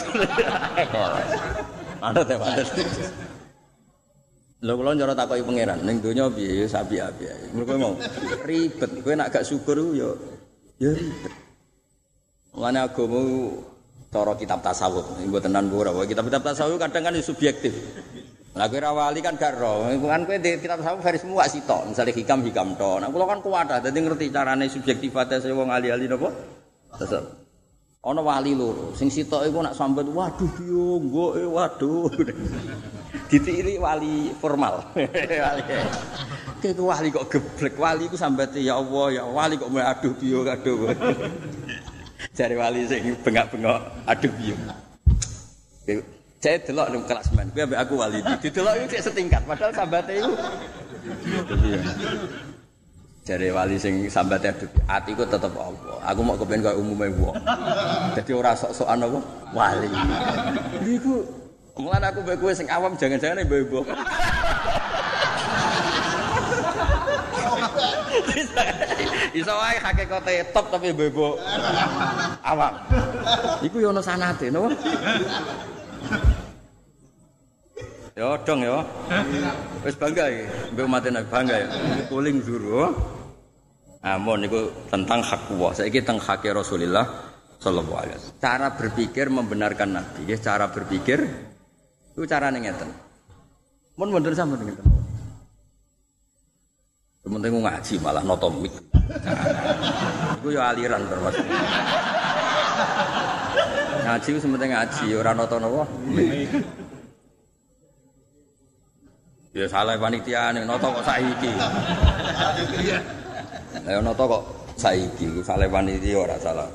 Manut ya manut. Lho kula njara takoki pangeran, ning donya piye ya sapi-api ae. Mergo mau ribet, kowe nek gak syukur ya ya ribet. Mulane agama cara kitab tasawuf, mboten tenan ora. Kitab-kitab tasawuf kadang kan subjektif. Lah kowe ra wali kan gak ro. Kan kowe di kitab tasawuf versi muwak sitok, misale hikam-hikam tok. Nah kula kan kuwat dadi ngerti carane subjektifate wong ahli-ahli napa? Tasawuf. Ana wali loro, sing sitok iku nak sambat, waduh piye nggoke waduh. Ditiri wali formal. Wali. Kek wali kok geblek, wali iku sambate ya Allah, ya wali kok mulai aduh piye aduh. Jare wali sing bengak-bengok aduh piye. Saya delok nang kelasmen, kuwi ambek aku wali. Didelok iki setingkat, padahal sambate iku. Jare wali sing sambate aduh, atiku tetep Allah. Aku mau kepen koyo umume wong. Dadi ora sok-sokan apa wali. Iku mulane aku mbek kowe sing awam jangan-jangan mbok. Iso wae hakikate top tapi mbok awam. Iku yo ana sanate, napa? Ya dong ya. Wis bangga iki, mbek umat Nabi bangga ya. Kuling juru. Amun niku tentang hak Allah. Saiki tentang hak Rasulullah sallallahu alaihi wasallam. Cara berpikir membenarkan Nabi, ya cara berpikir itu carane ngeten. Mun mboten sampeyan ngeten. Penting ngaji malah notomik. Iku ya aliran termasuk. Ngaji ku sementing ngaji ora noto napa. Ya salah panitia ning noto kok saiki. Lah noto kok saiki salah panitia ora salah.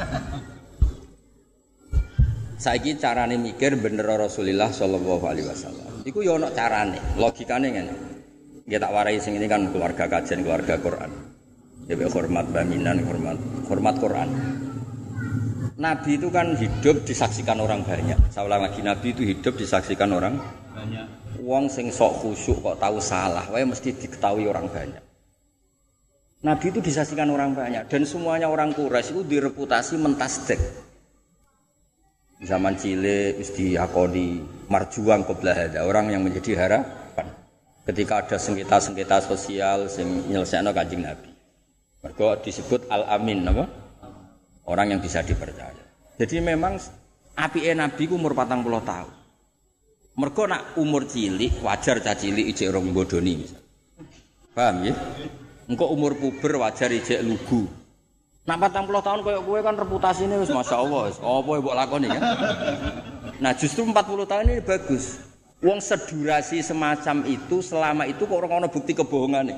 Saiki carane mikir bener Rasulullah sallallahu alaihi wasallam. Iku ya ana carane, logikane ngene. Nggih tak warai sing ini kan keluarga kajian, keluarga Quran. Ya hormat baminan, hormat hormat Quran. Nabi itu kan hidup disaksikan orang banyak. Saya ulang lagi, Nabi itu hidup disaksikan orang banyak. Wong sing sok khusyuk kok tahu salah, wae mesti diketahui orang banyak. Nabi itu disaksikan orang banyak dan semuanya orang Quraisy itu direputasi mentasdek. Zaman cilik wis diakoni marjuang qabla hada, orang yang menjadi harapan ketika ada sengketa-sengketa sosial sing nyelesaikno Kanjeng Nabi. Mergo disebut al-amin apa? Orang yang bisa dipercaya. Jadi memang apike Nabi ku umur patang puluh tahun. Mergo nak umur cilik wajar cah cilik ijek rong bodoni misal. Paham ya? Engko umur puber wajar ijek lugu. Nak patang puluh tahun koyo kowe kan reputasine wis masyaallah wis apa mbok lakoni kan. Nah justru empat puluh tahun ini bagus. Wong sedurasi semacam itu selama itu kok ora ana bukti kebohongane.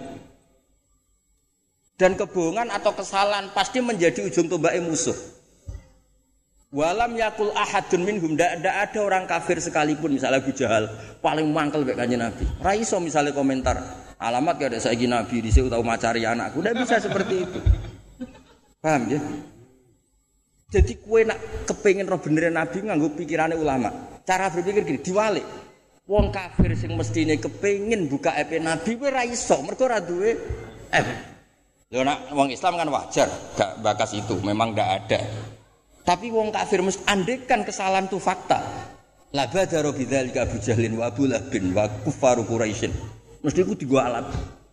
Dan kebohongan atau kesalahan pasti menjadi ujung tombake musuh. Walam yakul ahadun minhum, ndak ada orang kafir sekalipun misalnya Abu Jahal paling mangkel mek Kanjeng Nabi. Ra iso misalnya komentar, alamat gak ada saiki Nabi dhisik utawa macari anakku. Ndak bisa seperti itu. Paham ya? Jadi kowe nak kepengin roh bener Nabi nganggo pikirane ulama. Cara berpikir gini, diwalik. Wong kafir sing mestine kepengin buka ape Nabi kowe ra iso, mergo ora duwe F. Lho nak wong Islam kan wajar, gak bakas itu, memang ndak ada. Tapi wong kafir mesti andekan kesalahan itu fakta. La badara bidzalika Abu Jahlin wa Abu Lahabin wa kuffaru Quraisyin. Mesti iku digo alat.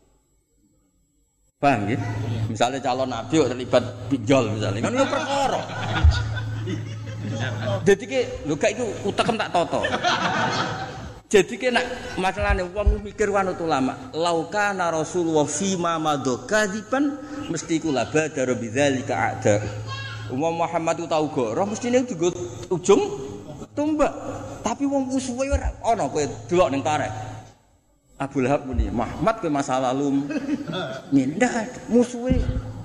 Paham ya? Misalnya calon nabi kok terlibat pinjol misalnya, kan yo perkara. Dadi ki lho gak iku utekem tak toto. Jadi ki nak masalahne wong mikir wanut ulama, laukana Rasulullah fi ma madokadiban mesti iku la badara bidzalika ada. Umum Muhammad itu tahu goroh, mestinya juga ujung tumbak. Tapi wong musuhe ora ana kowe delok ning tarek. Abu Lahab muni, Muhammad kowe masa lalu mindah musuhe.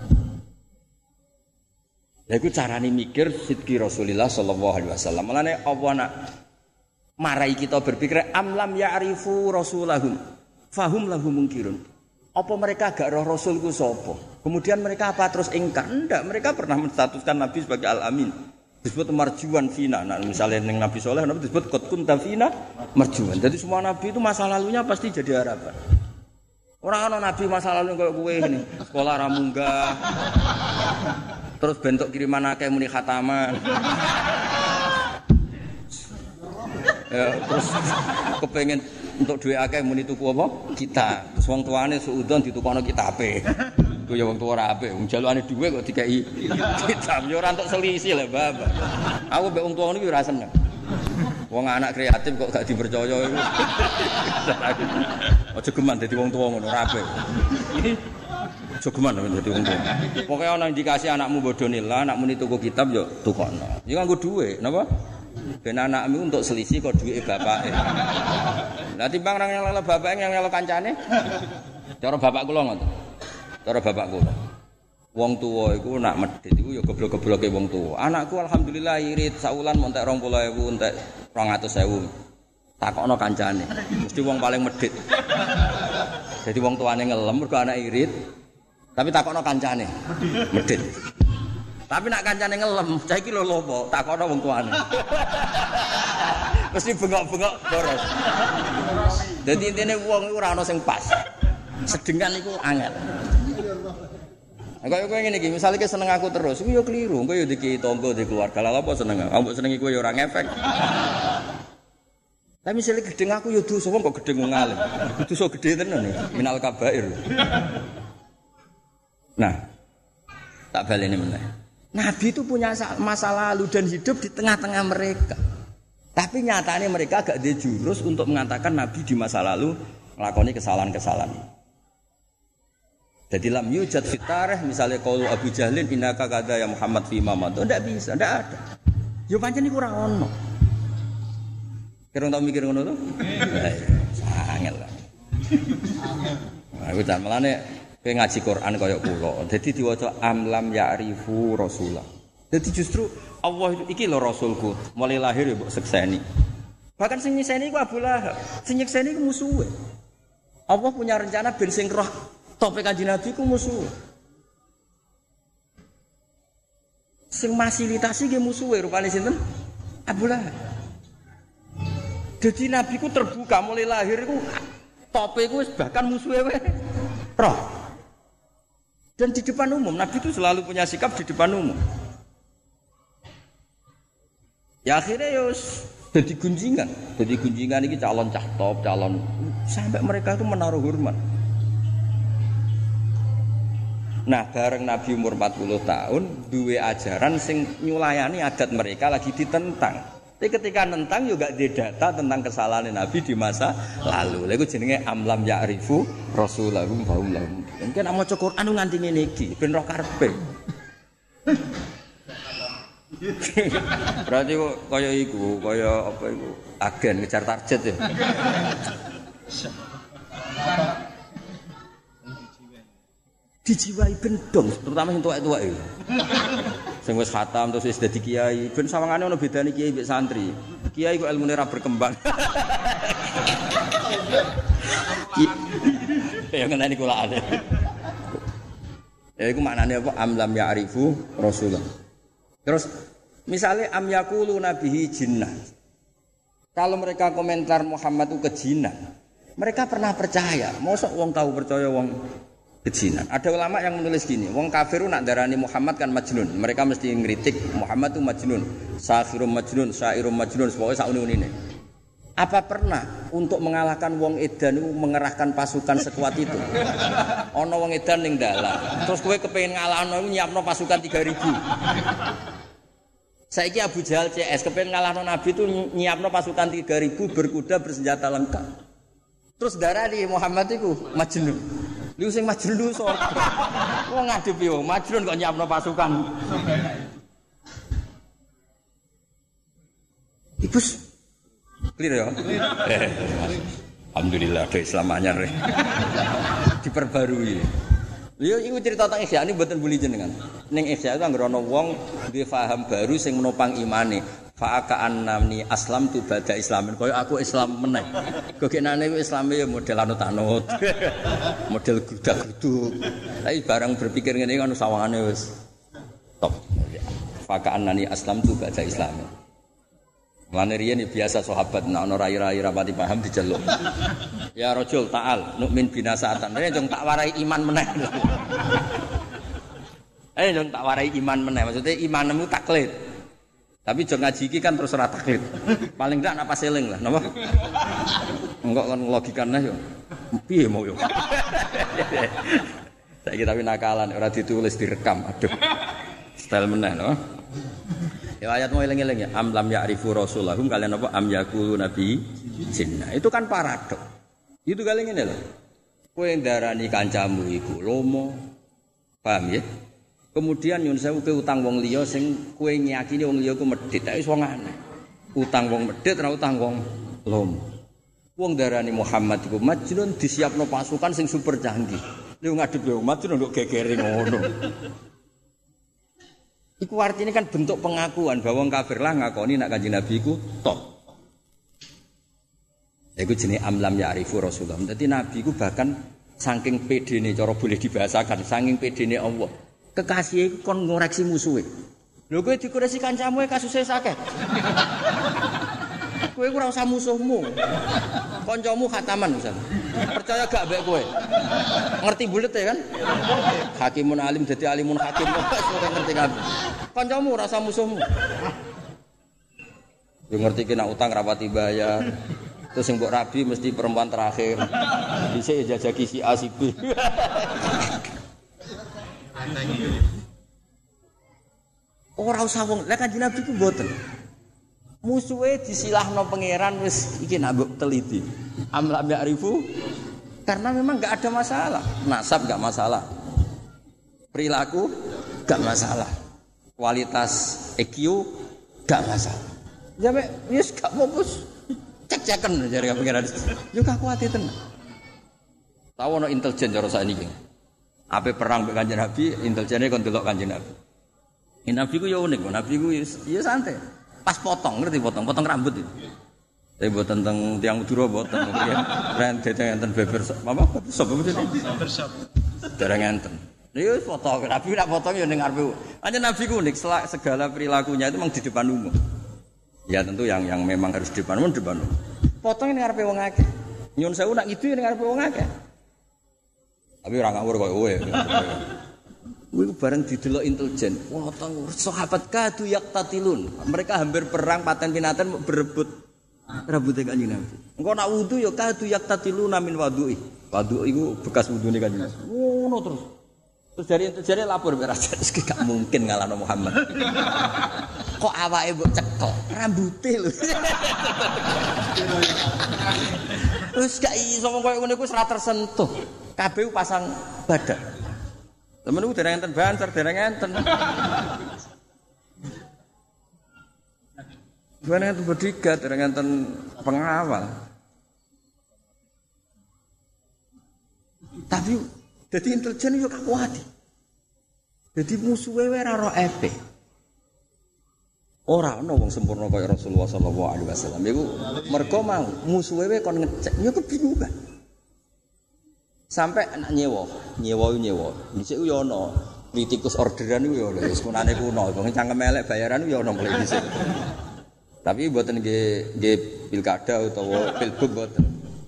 Lha iku carane mikir sidki Rasulullah sallallahu alaihi wasallam. Mulane apa nak marai kita berpikir amlam ya'rifu rasulahum fahum lahu munkirun. Apa mereka gak roh rasulku sapa? Kemudian mereka apa terus ingkar? Enggak, mereka pernah menstatuskan Nabi sebagai al-amin. Disebut marjuan fina. Nah, misalnya yang Nabi Saleh Nabi disebut qad kunta fina marjuan. Jadi semua nabi itu masa lalunya pasti jadi harapan. Orang ana nabi masa lalu kayak gue ini, sekolah ramunggah. Terus bentuk kiriman akeh muni khataman. Ya, terus kepengen untuk duwe akeh muni tuku apa? Kita. Terus wong tuane suudon ditukokno kitabe. Ku ya wong tuwa ora apik, wong jalukane dhuwit kok dikeki kitab. Ya ora entuk selisih lho, Bapak. Aku mbek wong tuwa niku ora seneng. Wong anak kreatif kok gak dipercaya iku. Aja geman dadi wong tuwa ngono ora apik. Aja geman dadi wong tuwa. Pokoke ana indikasi anakmu bodone lah, anakmu tuku kitab ya tukokno. Ya nganggo dhuwit, napa? Ben anakmu untuk selisih kok dhuwite bapake. Lah timbang nang nyelok bapake yang nyelok kancane. Cara bapak kula ngoten. Cara bapak kula. Wong tuwa iku nak medhit iku ya goblok-gobloke wong tuwa. Anakku alhamdulillah irit saulan montek dua puluh ribu entek dua ratus ribu. Takokno kancane. Mesti wong paling medhit. Jadi wong tuane ngelem mergo anak irit. Tapi takokno kancane. Medhit. Tapi nak kancane ngelem, saiki lho lopo, takokno wong tuane. Mesti bengok-bengok boros. Dadi intine wong iku ora ana sing pas. Sedengan iku angel. Kaya kowe ngene iki, misale ki seneng aku terus, iku yo keliru. Kowe yo iki tangga, di keluarga. Lah apa seneng? Ambek senengi kowe yo ora ngefek. Tapi misale gedeng aku yo dosa, wong kok gedeng wong alim. Dosa gedhe tenan ya, minal kabair. Nah, tak baleni meneh. Nabi itu punya masa lalu dan hidup di tengah-tengah mereka. Tapi nyatanya mereka gak ada jurus untuk mengatakan Nabi di masa lalu melakoni kesalahan-kesalahan. Jadi lam yujad fitareh misalnya qaulu Abu Jahlin innaka kada ya Muhammad fi mamad. Ndak bisa, ndak ada. Yo pancen iku ora ono. Kira tau mikir ngono to? Angel lah. Aku tak melane kowe ngaji Quran kaya kula. Dadi diwaca amlam ya'rifu rasulah. Dadi justru Allah itu iki lho rasulku, mulai lahir ya mbok sekseni. Bahkan sing nyiseni iku Abu Lahab, sing nyekseni iku musuhe. Allah punya rencana ben sing roh tope Kanjeng Nabi ku musuh. Sing fasilitasi ge musuhe rupane sinten? Abu Lahab. Dadi Nabi ku terbuka mulai lahir iku tope ku wis bahkan musuhe wae. Roh. Dan di depan umum Nabi itu selalu punya sikap di depan umum. Ya akhirnya ya jadi gunjingan. Jadi gunjingan ini calon cah top, calon sampai mereka itu menaruh hormat. Nah, bareng Nabi umur empat puluh tahun, dua ajaran sing nyulayani adat mereka lagi ditentang. Tapi ketika nentang juga ada data tentang kesalahan Nabi di masa lalu. Lha iku jenenge amlam ya'rifu rasulahum fahum lahum. Mungkin nek maca Quran nganti ngene iki ben roh karepe. Berarti kok kaya iku, kaya apa iku? Agen ngejar target ya. Dijiwai bendong, terutama sing tuwek-tuwek iki. Sing wis khatam terus wis dadi kiai, ben sawangane ana bedane kiai mbek santri. Kiai kok ilmune ra berkembang. Ya ngene kula ate. Ya iku maknane apa amlam ya'rifu rasulullah. Terus misalnya am yaqulu nabihi jinnah. Kalau mereka komentar Muhammad itu kejinan, mereka pernah percaya. Mosok wong tahu percaya wong kejinan. Ada ulama yang menulis gini, wong kafir nak darani Muhammad kan majnun. Mereka mesti ngritik Muhammad itu majnun. Sahirum majnun, syairum majnun, pokoknya sak uni-unine. Apa pernah untuk mengalahkan wong edan itu mengerahkan pasukan sekuat itu? Ana wong edan ning dalan. Terus kowe kepengin ngalahno nyiapno pasukan tiga ribu. Saiki Abu Jahal C S kepengin ngalahno Nabi itu nyiapno pasukan tiga ribu berkuda bersenjata lengkap. Terus darani Muhammad iku majnun. Lu sing majnun lu sapa? Wong ngadepi wong majnun kok nyiapno pasukan. Ibu Clear ya? Eh, alhamdulillah ada Islam anyar. Diperbarui. Lha iku cerita tentang Ihya ini mboten buli jenengan. Ning Ihya itu anggere ana wong duwe paham baru sing menopang imane. Fa'aka annani aslam tu bada islamin. Kaya aku Islam meneh. Gogenane ku Islame ya model anut-anut. Model grudak-gruduk. Tapi barang berpikir ngene kan sawangane wis top. Fa'aka annani aslam tu bada islamin. Lan riyen biasa sahabat nek ana rai-rai rapati paham diceluk. Ya rajul ta'al nukmin binasatan. Nek jong tak warai iman meneh. Eh jong tak warai iman meneh. Maksudnya imanmu taklid. Tapi jong ngaji iki kan terus ora taklid. Paling ndak nak pas eling lah, napa? Enggak kan logikane yo. Piye mau yo. Saiki tapi nakalan ora ditulis direkam. Aduh. Style meneh no. Ya ayat mau eling-eling ya am lam ya'rifu rasulahum kalian apa am yaqulu nabi jinna. Itu kan paradok. Itu kali ngene lho. Kowe ndarani kancamu iku lomo. Paham ya? Kemudian nyun sewu ke utang wong liya sing kowe nyakini wong liya ku medhit. Tak wis wong aneh. Utang wong medhit ora utang wong lomo. Wong ndarani Muhammad iku majnun disiapno pasukan sing super canggih. Lha ngadep yo majnun nduk gegere ngono. Iku artinya kan bentuk pengakuan bahwa wong kafir lah ngakoni nak Kanjeng Nabi iku tok. Iku jenenge amlam ya'rifu Rasulullah. Dadi Nabi iku bahkan saking pedene cara boleh dibahasakan, saking pedene Allah. Kekasih iku kon ngoreksi musuhe. Lho kowe dikoreksi kancamu kasuse sakeh. Kowe ora usah musuhmu. Kancamu khataman misal. Percaya gak mbek kowe? Ngerti bulet ya kan? Hakimun alim dadi alimun hakim kok ora ngerti kabeh. Kancamu ora usah musuhmu. Yo ngerti ki nek utang rapati bayar. Terus sing mbok rabi mesti perempuan terakhir. Dhisik jajaki si A si B. Ora usah wong, lek Kanjeng Nabi ku mboten. Musuhe disilahno pangeran wis iki nak mbok teliti. Am lam ya'rifu karena memang enggak ada masalah. Nasab enggak masalah. Perilaku enggak masalah. Kualitas E Q enggak masalah. Sampai wis gak fokus. Cek-cekan jare pangeran. Yo gak kuat tenan. Tahu ono intelijen cara sakniki. Ape perang mbek Kanjeng Nabi, intelijene kon delok Kanjeng Nabi. Nabi ku yo unik, Nabi ku ya santai. Pas potong, ngerti potong, potong rambut itu. Tapi buat tentang tiang Madura boten, ya. Ren dete enten beber apa? Sop beber sop. Dereng enten. Niku foto, Nabi nak potong ya ning ngarepe. Anjen Nabi ku unik, segala perilakunya itu memang di depan umum. Ya tentu yang yang memang harus di depan umum di depan umum. Potong ning ngarepe wong akeh. Nyun sewu nak gitu ning ngarepe wong akeh. Tapi ora ngawur koyo kowe. Kuwi bareng didelok intelijen. Wah, sahabat kadu yaktatilun. Mereka hampir perang paten pinatan berebut rambute Kanjeng Nabi. Engko nak wudu ya kadu yaktatilun min wudu'i. Wudu iku bekas wudune Kanjeng Nabi. Ngono terus. Terus dari intelijen lapor mek raja, iki gak mungkin ngalahno Muhammad. Kok awake mbok cekel, rambuté lho. Terus gak iso koyo ngene iku ora tersentuh. Kabeh pasang badak. Temen ku dereng enten banter, dereng enten. Dereng enten bodyguard, dereng enten pengawal. Tapi dadi intelijen yo kakuati. Dadi musuhe ora ro epe. Ora ana wong sempurna kaya Rasulullah sallallahu alaihi wasallam. Iku mergo mau musuhe kon ngecek, yo kebingungan. Sampai anak nyewa, nyewa nyewa. Dhisik yo ana kritikus orderan iku yo wis kunane kuno, wong cangkem elek bayaran yo ana mulai dhisik. Tapi mboten nggih nggih pilkada utawa pilbub mboten.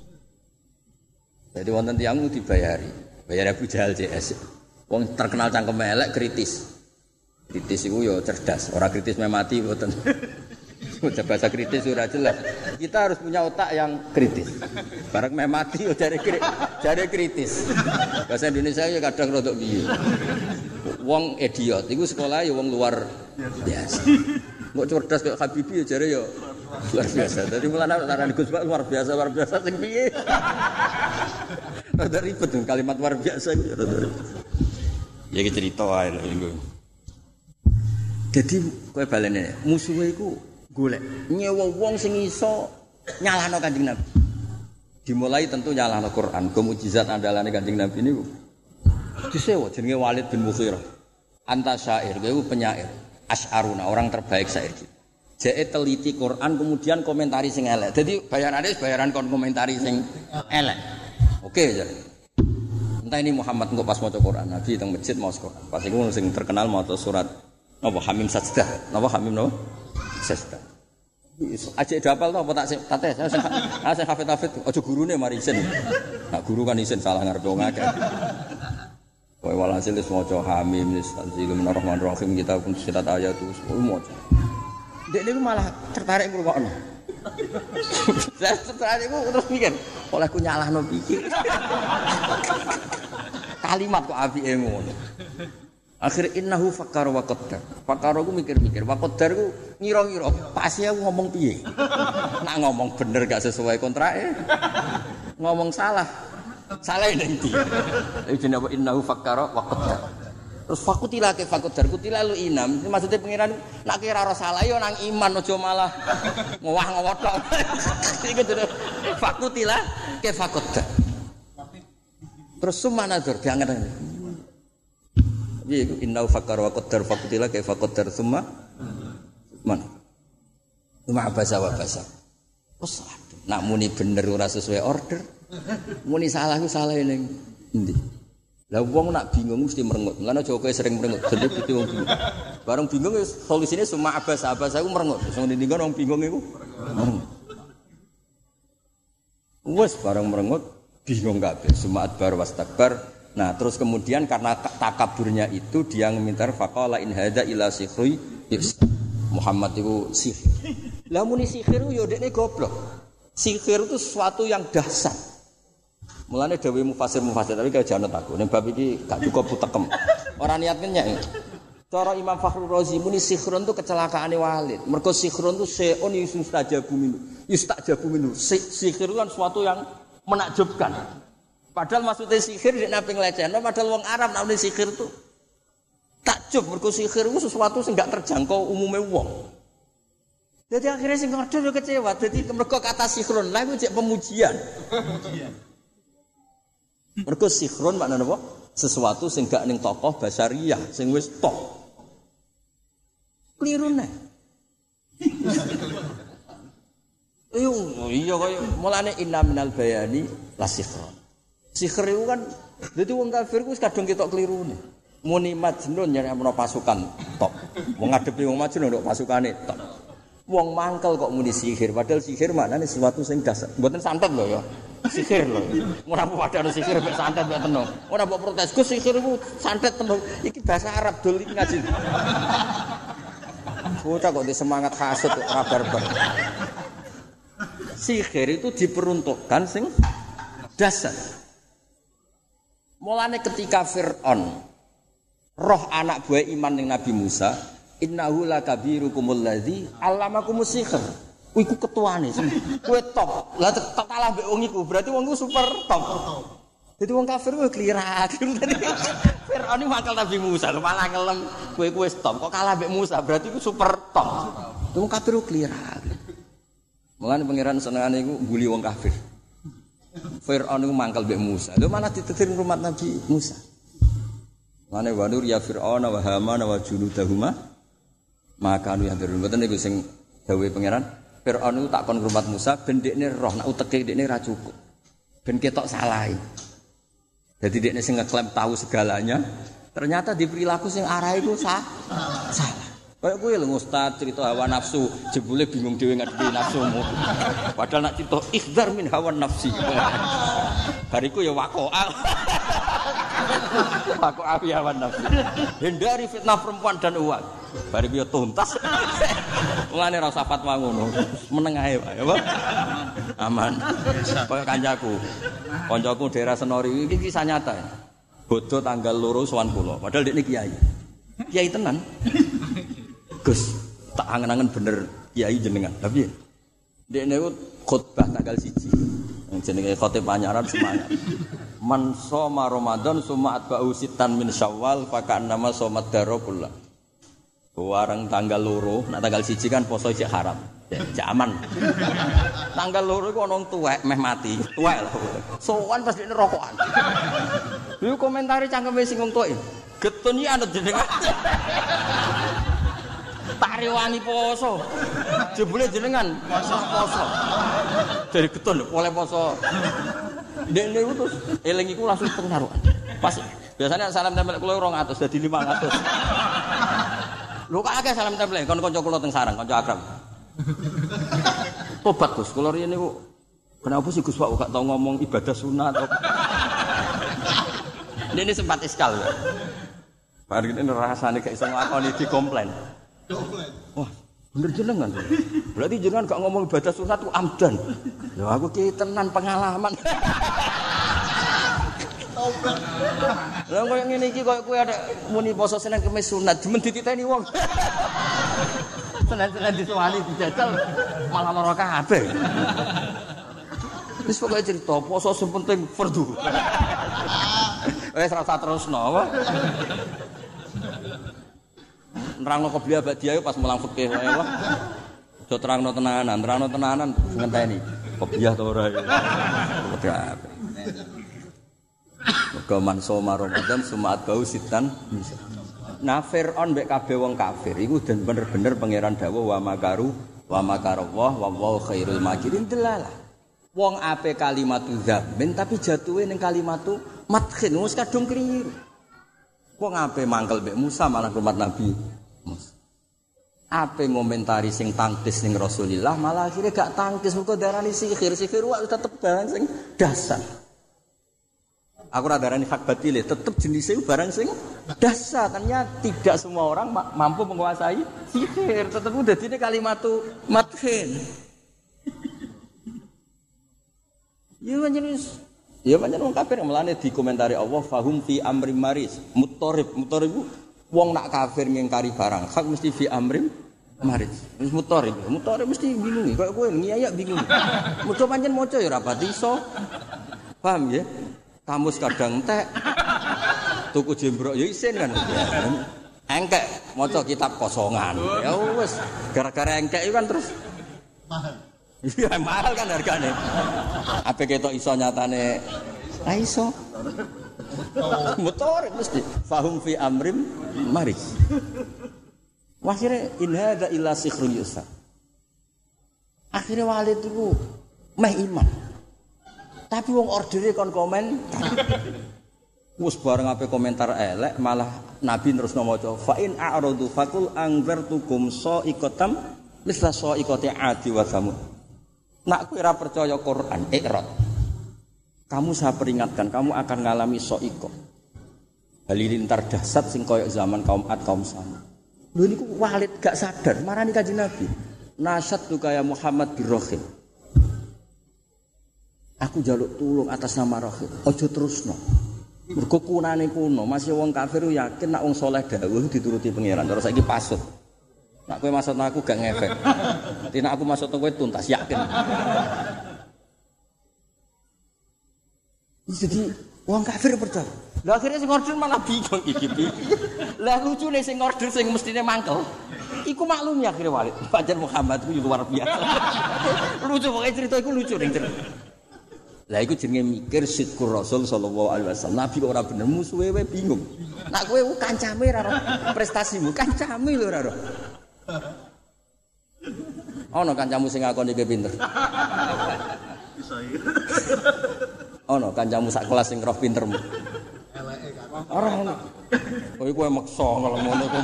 Jadi wonten tiyang dibayari, bayar Abu Jahal C S. Wong terkenal cangkem elek kritis. Kritis iku yo cerdas, ora kritis memati mboten. Udah bahasa kritis sudah jelas. Kita harus punya otak yang kritis. Barang meh mati yo jare jare kritis. Bahasa Indonesia ya kadang rodok piye. Wong idiot iku sekolah ya wong luar biasa. Kok cerdas kok Habibie ya jare ya luar biasa. Dadi mulane arane Gus Pak luar biasa, luar biasa sing piye. Rada ribet kalimat luar biasa iku ya rada ribet. Ya iki cerita wae lho iku. Dadi kowe balene musuhe iku golek nyewa wong sing iso nyalahno Kanjeng Nabi. Dimulai tentu nyalahno Quran, go mukjizat andalane Kanjeng Nabi niku. Disewa jenenge Walid bin Mughirah. Anta syair, kowe penyair. Asy'aruna, orang terbaik syair kita. Jeke teliti Quran kemudian komentari sing elek. Dadi bayarane bayaran kon komentari sing elek. Oke ya. Entah ini Muhammad engko pas maca Quran, Nabi teng masjid maos Quran. Pas iku sing terkenal maca surat napa Hamim Sajdah. Napa Hamim napa? Sajdah. Ajek dapal to apa tak tak tes. Ah sing hafid-hafid aja gurune mari isin. Nah guru kan isin salah ngarepe wong akeh. Kowe walhasil wis maca Hamim wis tanzilul rahmanir rahim kita pun sitat ayat terus maca. Dek niku malah tertarik ngrungokno. Lah tertarik ku terus mikir, oleh ku nyalahno pikir. Kalimat kok apike ngono. Akhir innahu fakkar wa qaddar. Fakkar ku mikir-mikir, wa qaddar ku ngira-ngira pas ya ngomong piye. Nak ngomong bener gak sesuai kontrake. Ngomong salah. Salah ning ndi? Iki jenenge innahu fakkar wa qaddar. Terus fakutila ke fakutar kutila lu inam. Maksudnya pengiran nak kira ora salah yo nang iman aja malah ngowah-ngowah tok. Iku terus fakutila ke fakutar. Terus summa nazar diangen. Piye iku innau fakkar wa qaddar fakutila ke fakutar summa man. Cuma bahasa wa bahasa. Wes nak muni bener ora sesuai order. Muni salah ku salah ning endi? Lah wong nak bingung mesti merengut. Mulane aja kowe sering merengut. Dadi pitu wong bingung. Bareng bingung wis solusine summa abas-abas aku merengut. Sing ndingan wong bingung iku. Wes bareng merengut bingung kabeh. Summa adbar wastakbar. Nah, terus kemudian karena takaburnya itu dia meminta faqala in hadza ila sihri Muhammad itu sihir. Lah muni sihir yo dekne goblok. Sihir itu sesuatu yang dahsyat. Mulane dawuh mufasir-mufasir tapi kaya jangan aku. Ning bab iki gak cukup putekem. Ora niat nyek. Cara Imam Fakhrul Razi muni sihrun itu kecelakaane Walid. Mergo sihrun itu seon yustajabu minhu. Yustajabu minhu. Sihir itu kan sesuatu yang menakjubkan. Padahal maksudnya sihir nek nape nglecehno padahal wong Arab nek sihir itu takjub mergo sihir itu sesuatu sing gak terjangkau umume wong. Jadi akhirnya sing order yo kecewa. Jadi mergo kata sihrun lha iku cek pemujian. Pemujian. Mergo sikhron maknane apa? Sesuatu sing gak ning tokoh basariyah sing wis tok. Klirune. Iyo iya kaya mulane inna minal bayani la sikhron. Sikhir itu kan dadi wong kafir ku wis kadung ketok klirune. Muni majnun nyari ana pasukan tok. Wong ngadepi wong majnun ndok pasukane tok. Wong mangkel kok muni sihir padahal sihir maknane sesuatu sing dasar. Mboten santet lho ya. Sihir lho. Ora padha ana sihir mek santet mek tenung. Ora mbok protes, Gus sihir iku santet tenung. Iki bahasa Arab dol iki ngaji. Bocah kok semangat hasud ora barbar. Sihir itu diperuntukkan sing dasar. Mulane ketika Fir'aun roh anak buah iman ning Nabi Musa, innahu lakabirukumul ladzi 'allamakumus sihr. Kuwi ku ketuane, kowe top. Lah tak kalah mbek wong iku, berarti wong iku super top. Dadi wong kafir kuwi klirak. Fir'aun mangkel Nabi Musa, malah ngelem kowe ku wis top. Kok kalah mbek Musa, berarti ku super top. Wong kafir ku klirak. Mulane pangeran senengane iku mbuli wong kafir. Fir'aun iku mangkel mbek Musa. Lho malah ditetir rumah Nabi Musa. Mulane wanur ya Fir'aun wa Haman wa junudahuma maka anu yang dirun. Mboten niku sing dawuhe pangeran. Fir'aun itu tak kon ngrumat Musa ben dekne roh nek uteke dekne ra cukup. Ben ketok salahe. Dadi dekne sing ngeklaim tahu segalanya, ternyata di perilaku sing arah iku sah, salah. Kayak kowe lho Ustaz cerita hawa nafsu, jebule bingung dhewe ngadepi nafsumu. Padahal nak cerita ikhdar min hawa nafsi. Bariku ya waqo'a. Waqo'a fi hawa nafsi. Hindari fitnah perempuan dan uang. Bariku ya tuntas. Mulane ra usah fatwa ngono. Meneng ae wae, apa? Aman. Kaya kancaku. Kancaku daerah Senori iki kisah nyata. Bodho tanggal loro sowan kula. Padahal dekne kiai. Kiai tenan. Gus, tak angen-angen bener kiai jenengan. Tapi dekne ku khotbah tanggal siji. Jenenge khotib panyaran semangat. Man shoma Ramadan summa atba'u sitan min Syawal fa ka'annama shomat daro kullah. Warang tanggal loro, nak tanggal siji kan poso isih haram. Zaman. Tanggal loro iku ana wong tuwek meh mati, tuwek lho. Sowan pas dene rokokan. Iku komentari cangkeme sing wong tuwek. Getun iki anut jenengan. Tak rewangi poso. Jebule jenengan poso poso. Dari getun oleh poso. Dene iku terus eling iku langsung pengaruhan. Pas biasanya salam tempel kula dua ratus dadi lima ratus. Lho kok akeh salam tempel kon kanca kula teng sarang, kanca akrab. Tobat Gus, kula riyen niku kenapa sih Gus Pak gak tau ngomong ibadah sunat apa. Ini sempat iskal. Bar iki rasane gak iso nglakoni di komplain. Wah, bener jenengan. Berarti jenengan gak ngomong ibadah sunat ku amdan. Lho aku ki tenan pengalaman. Lah koyo ngene iki koyo kowe ada muni poso Senin Kamis sunat, demen dititeni wong. Senin-senin disuwani dijajal malah lara kabeh. Wis pokoke cerita poso sing penting fardu. Wis ora usah terusno apa. Nerangno qobliyah ba'diyah pas mulang fikih wae wae. Do terangno tenanan, terangno tenanan ngenteni. Qobliyah to ora. Udah. Mergo mansoma Ramadan sumat bau sitan. Nah Fir'aun mbek kabeh wong kafir iku den bener-bener pangeran dawuh wa makaru wa makarallah wa wallahu khairul makirin delalah. Wong ape kalimatu dzammin tapi jatuhe ning kalimatu madkhin wis kadung keliru. Wong ape mangkel mbek Musa malah hormat Nabi Musa. Ape ngomentari sing tangkis ning Rasulillah malah akhirnya gak tangkis mergo darani sihir, sihir wae tetep barang sing dasar. Aku ora darani hak batil, tetep jenisnya barang sing dasar. Ternyata tidak semua orang ma- mampu menguasai sihir. Tetep udah dene kalimatu madkhin. Ya jenis ya pancen wong kafir melane dikomentari Allah fahum fi amrim maris mutarib mutarib wong nak kafir ngingkari barang hak mesti fi amrim maris wis mutarib mutarib mesti bingung kaya kowe ngiyak bingung muga pancen maca ya ora pati iso paham ya kamus kadang entek tuku jembrok ya isin kan engkek maca kitab kosongan ya wis gara-gara engkek itu kan terus mahal. Iya mahal kan hargane. Apa ketok iso nyatane? Ra iso. Motor mesti fahum fi amrim maris. Akhire in hadza illa sikhrun yusar. Akhire Walid iku meh iman. Tapi wong ordere kon komen. Wes bareng ape komentar elek malah Nabi terus maca fa in a'radu faqul anzartukum sa'iqatam misla sa'iqati 'adi wa samud. Nak kowe ora percaya Quran, ikrot. Kamu saya peringatkan, kamu akan ngalami soiko. Halilintar dahsyat sing koyok zaman kaum Ad kaum Samud. Lho niku Walid gak sadar, marani Kanjeng Nabi. Nasyad tu kaya Muhammad birrohim. Aku jaluk tulung atas nama Rohim. Ojo terusno. Mergo kunane kuno, masih wong kafir yakin nak wong saleh dawuh dituruti pangeran. Terus saiki pasut. Nak kowe maksud aku gak ngefek. Dadi nek aku maksud kowe tuntas yakin. Jadi wong kafir percaya. Lah akhirnya sing order malah bingung iki piye. Lah lucune sing order sing mestine mangkel. Iku maklum ya akhirnya Walid. Pancen Muhammad ku luar biasa. Lucu pokoke cerita iku lucu ning cerita. Lah iku jenenge mikir sidqur Rasul sallallahu alaihi wasallam. Nabi kok ora bener musuhe wae bingung. Nak kowe kancame ora ro prestasimu, kancame lho ora ro. Ono kancamu sing ngakoni kowe pinter. Bisa iki. Ono kancamu sak kelas sing roh pintermu. Eleke kan. Ora ono. Kowe kowe maksa ngono kowe.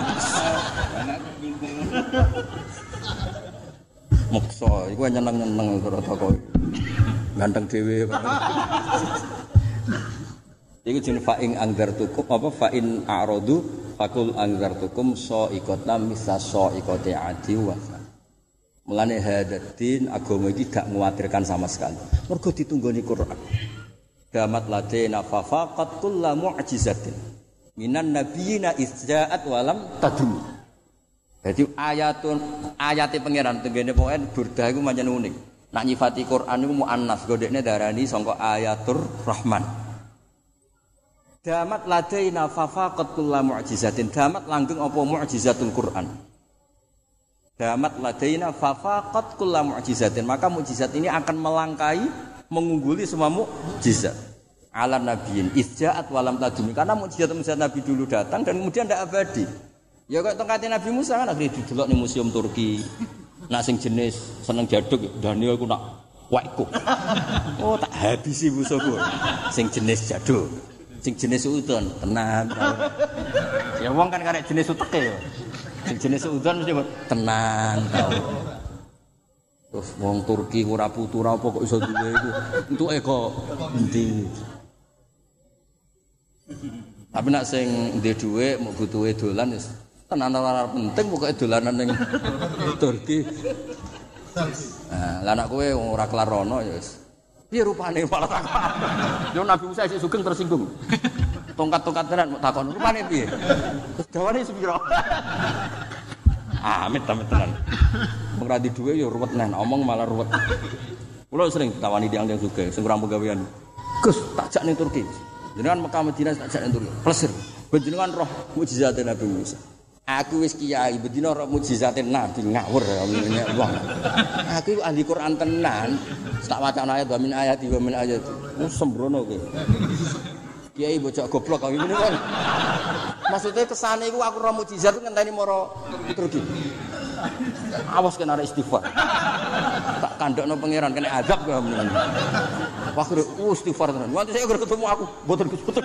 Maksa, iku nyeneng-nyeneng karo kowe. Ganteng dhewe. Iku jeneng fa'ing angzartukum apa fa'in a'radu faqul angzartukum sa'iqatam misa sa'iqati 'adi wa. Mulane hadatin agama iki gak nguwatirkan sama sekali. Mergo ditunggoni Quran. Damat ladena fafaqat kullu mu'jizatin minan nabiyina izja'at walam tadum. Jadi ayatun ayate pangeran tenggene pokoke burdah iku pancen unik. Nak nyifati Quran iku muannas, godekne darani sangka ayatur Rahman. Damat ladaina fafaqat kullu mu'jizatin. Damat langgeng apa mu'jizatul Quran. damat ladaina fafaqat kullu mu'jizatin, maka mukjizat ini akan melangkai mengungguli semua mukjizat ala nabiyin izja'at walam tadumi, karena mukjizat-mukjizat Nabi dulu datang dan kemudian tidak abadi. Ya kok tongkatnya Nabi Musa kan akhirnya didelok ning museum Turki. Nak sing jenis seneng jaduk Daniel ku nak waikku. Oh tak habisi musuhku. Sing jenis jaduk, sing jenis udon tenan. Ya wong kan karek jenis uteke ya. Sing jenis udon mesti tenan tau. Terus wong Turki ora putu ora apa kok iso duwe iku. Entuke kok endi. Tapi nak sing ndek dhuwit mau butuhe dolan wis tenan ora penting pokoke dolanan ning Turki. Nah, lah anak kowe ora kelar rono ya wis. Piye rupane malah takon. Yo Nabi Musa isih sugeng tersinggung. Tongkat-tongkat tenan mau takon rupane piye? Terus dawane sepiro? Amit amit tenan. Wong ra di dhuwit ya ruwet nen, omong malah ruwet. Kulo sering ditawani tiyang-tiyang sugih sing ora pegawean. Gus, tak jak ning Turki. Jenengan Mekah Madinah tak jak ning Turki. Plesir. Jenengan roh mukjizat Nabi Musa. Aku wis kiai, bedino roh mukjizat Nabi ngawur ya wong. Aku ahli Quran tenan. Tak wacana ayat wa min ayati wa min ayati. Wis sembrono kowe. Kiai bocah goblok kok ngene kan. Maksudnya kesane iku aku roh mukjizat ngenteni moro Turki. Awas kena istighfar. Tak kandhakno pangeran kena azab kowe men. Wah kira istighfar tenan. Nanti saya ketemu aku mboten mboten.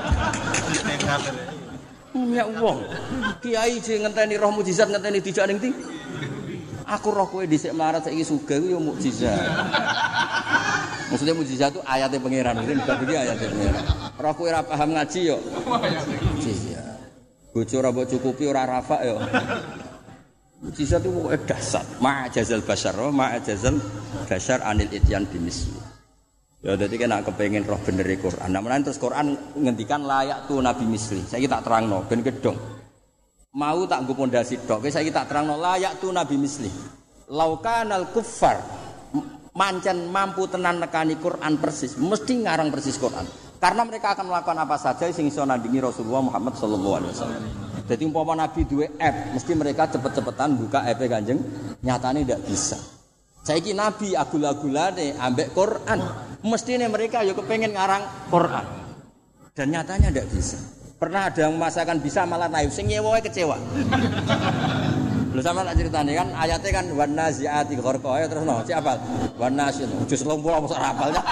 Ya wong. Kiai sing ngenteni roh mukjizat ngenteni dijak ning ndi? Aku roh kowe dhisik melarat saiki sugih ku ya mukjizat. Maksudnya mukjizat itu ayatnya pangeran, mungkin bukan iki ayatnya pangeran. Roh kowe ora paham ngaji yo. Iya. Bojo ora mbok cukupi ora rafa yo. Mukjizat itu pokoke dasar. Ma'jazal basyar, ma'jazal basyar anil ityan bimisli. Ya dadi kena kepengin roh bener e Quran. Nah menawa terus Quran ngendikan layak tu nabi misli. Saiki tak terangno ben kedong. Mau tak nggo pondasi tok. Saiki tak terangno layak tu nabi misli. Laukanal kuffar mancen mampu tenan nekani Quran persis, mesti ngarang persis Quran. Karena mereka akan melakukan apa saja sing iso nandingi Rasulullah Muhammad sallallahu alaihi wasallam. Jadi umpama Nabi duwe app, mesti mereka cepet-cepetan buka app Kanjeng, nyatane ndak bisa. Saiki Nabi agul-agulane ambek Quran, mestine mereka ya kepengen ngarang Quran. Dan nyatanya ndak bisa. Pernah ada yang memaksakan bisa malah naif, sing nyewoe kecewa. Lho sampeyan tak critane kan ayate kan wan naziati gharqa ya terus no, cek apal. Wan naziat jus lompo apa sak apalnya.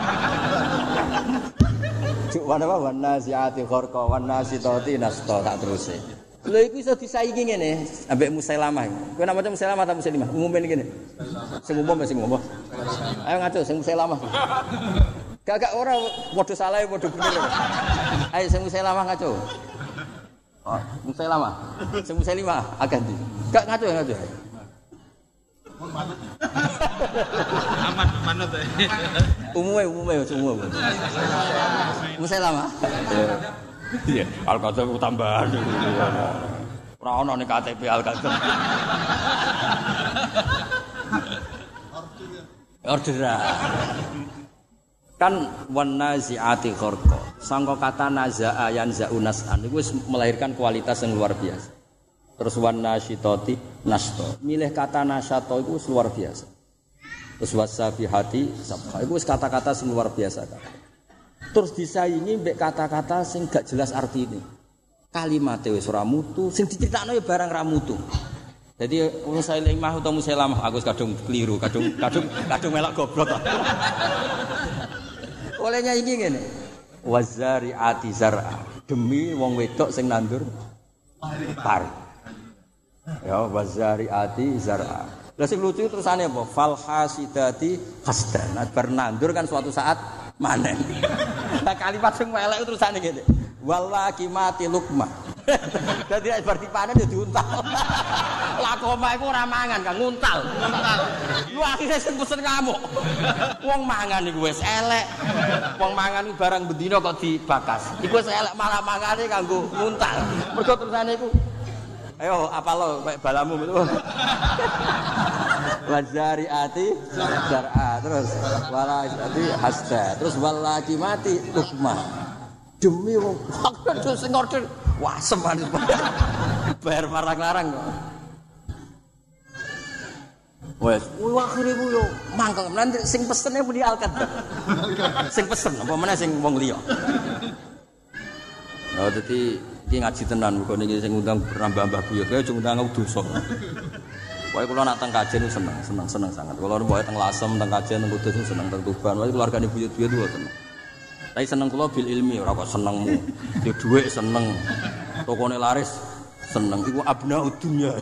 Cuk wan apa wan naziati gharqa wan nasitati nasta tak teruse. Lho iku iso disaingi ngene ambek Musailamah. Kowe namanya Musailamah ta Musailimah? Umume ngene. Sing umum sing umum. Ayo ngaco sing Musailamah. Gak-gak ora padha salah padha bener. Ayo sing Musailamah ngaco. Oh, Musailamah. Sing Musailimah agak ndi? Gak ngaco ngaco. Aman manut. Umume umume umume. Musailamah. Iya, Al-Qadar ku tambahan. Ora ono ning K T P Al-Qadar. Orderan. Kan wan naziati gharqa. Sangka kata nazaa yanza'u nas'an iku wis melahirkan kualitas yang luar biasa. Terus wan nasyitati nasta. Milih kata nasyato iku wis luar biasa. Terus wasabihati sabha iku wis kata-kata sing luar biasa kan. Terus disaingi mbek kata-kata sing gak jelas artine. Kalimate wis ora mutu, sing diceritakno ya barang ra mutu. Jadi Musailimah utawa Musailamah aku wis kadung keliru, kadung kadung kadung melok goblok. Olehnya iki ngene. Wazari'ati zar'a. Demi wong wedok sing nandur pari. Ya wazari'ati zar'a. Lah sing lucu terusane apa? Fal hasidati hasdan. Bar nandur kan suatu saat manen. Lah kalimat sing elek terusane ngene. Wallaki mati lukma. Dadi bar dipanen ya diuntal. Lah koma iku ora mangan kan nguntal. Nguntal. Lu akhire sing pesen ngamuk. Wong mangan iku wis elek. Wong mangan iku barang bendina kok dibakas. Iku wis elek malah mangane kanggo nguntal. Mergo terusane iku ayo apalo kayak balamu itu. Wazari'ati zar'a terus wala'ati hasda terus walaki mati lukma. Demi wong aku sing order wah seman bayar marang-larang kok. Wes, wah akhire ku yo mangkel. Nanti sing pesene muni Al-Qadar. Sing pesen apa meneh sing wong liya. Oh dadi iki ngaji tenan kok niki sing ngundang Mbah-mbah buyut kaya aja ngundang aku dosa. Pokoke kula nak teng kajen seneng, seneng seneng sangat. Kula pokoke teng Lasem, teng kajen, teng Kudus seneng, teng Tuban. Pokoke keluargane buyut-buyut kuwi seneng. Tapi seneng kula bil ilmi ora kok senengmu. Di dhuwit seneng. Tokone laris seneng. Iku abna dunya.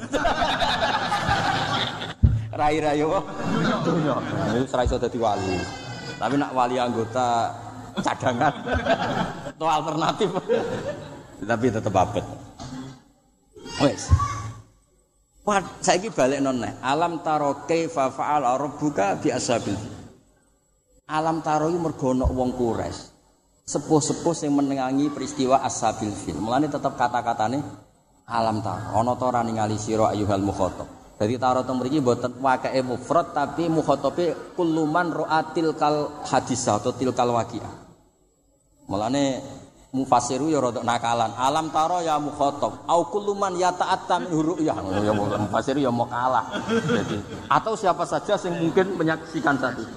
Rai-rai yo dunya. Wis ora iso dadi wali. Tapi nak wali anggota cadangan atau alternatif tapi tetap abet. Wes. Wah, saiki balik noneh. Alam taro kaifa fa'ala rabbuka bi ashabil. Alam taro iki mergo ana wong Quraisy. Sepuh-sepuh sing menengangi peristiwa ashabil fil. Mulane tetep kata-katane alam taro. Ana ta ora ningali sira ayyuhal mukhatab. Dadi taro teng mriki mboten waqi'e mufrad tapi mukhatabe kulluman ra'atil kal hadisah atau tilkal waqi'ah. Mulane mufassiru ya rada nakalan. Alam taro ya mukhatab au kulluman yata'atta min ru'yah. Ya mufassiru ya mau kalah. Jadi atau siapa saja yang mungkin menyaksikan saat itu.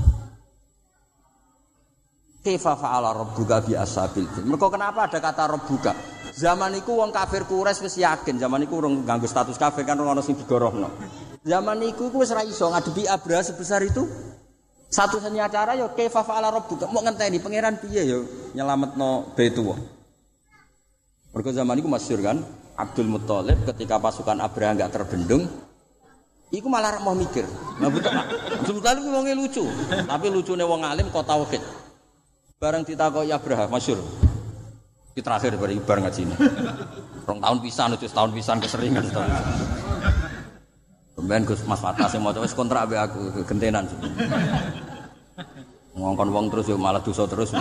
Kaifa fa'ala rabbuka bi ashabil fil. Mergo kenapa ada kata rabbuka? Zaman iku wong kafir Quraisy wis yakin, zaman iku urung nganggo status kafir kan ono sing digorohno. Zaman iku iku wis ra iso ngadepi Abraha sebesar itu. Satu-satunya cara ya kaifa fa'ala rabbuka. Mau ngenteni pangeran piye ya nyelametno Baitullah. Mergo zaman iku masyhur kan Abdul Muthalib ketika pasukan Abraha enggak terbendung, iku malah mau mikir. Nah betul. Abdul Muthalib ku wonge lucu, tapi lucune wong alim kok tauhid. Bareng ditakoki Abraha masyhur. Iki terakhir bari bar ngajine. Rong tahun pisan wis tahun pisan keseringan tahun. Pemben Gus Mas Fatah sing maca wis kontrak mbek aku gentenan. Ngongkon wong terus yo malah dosa terus.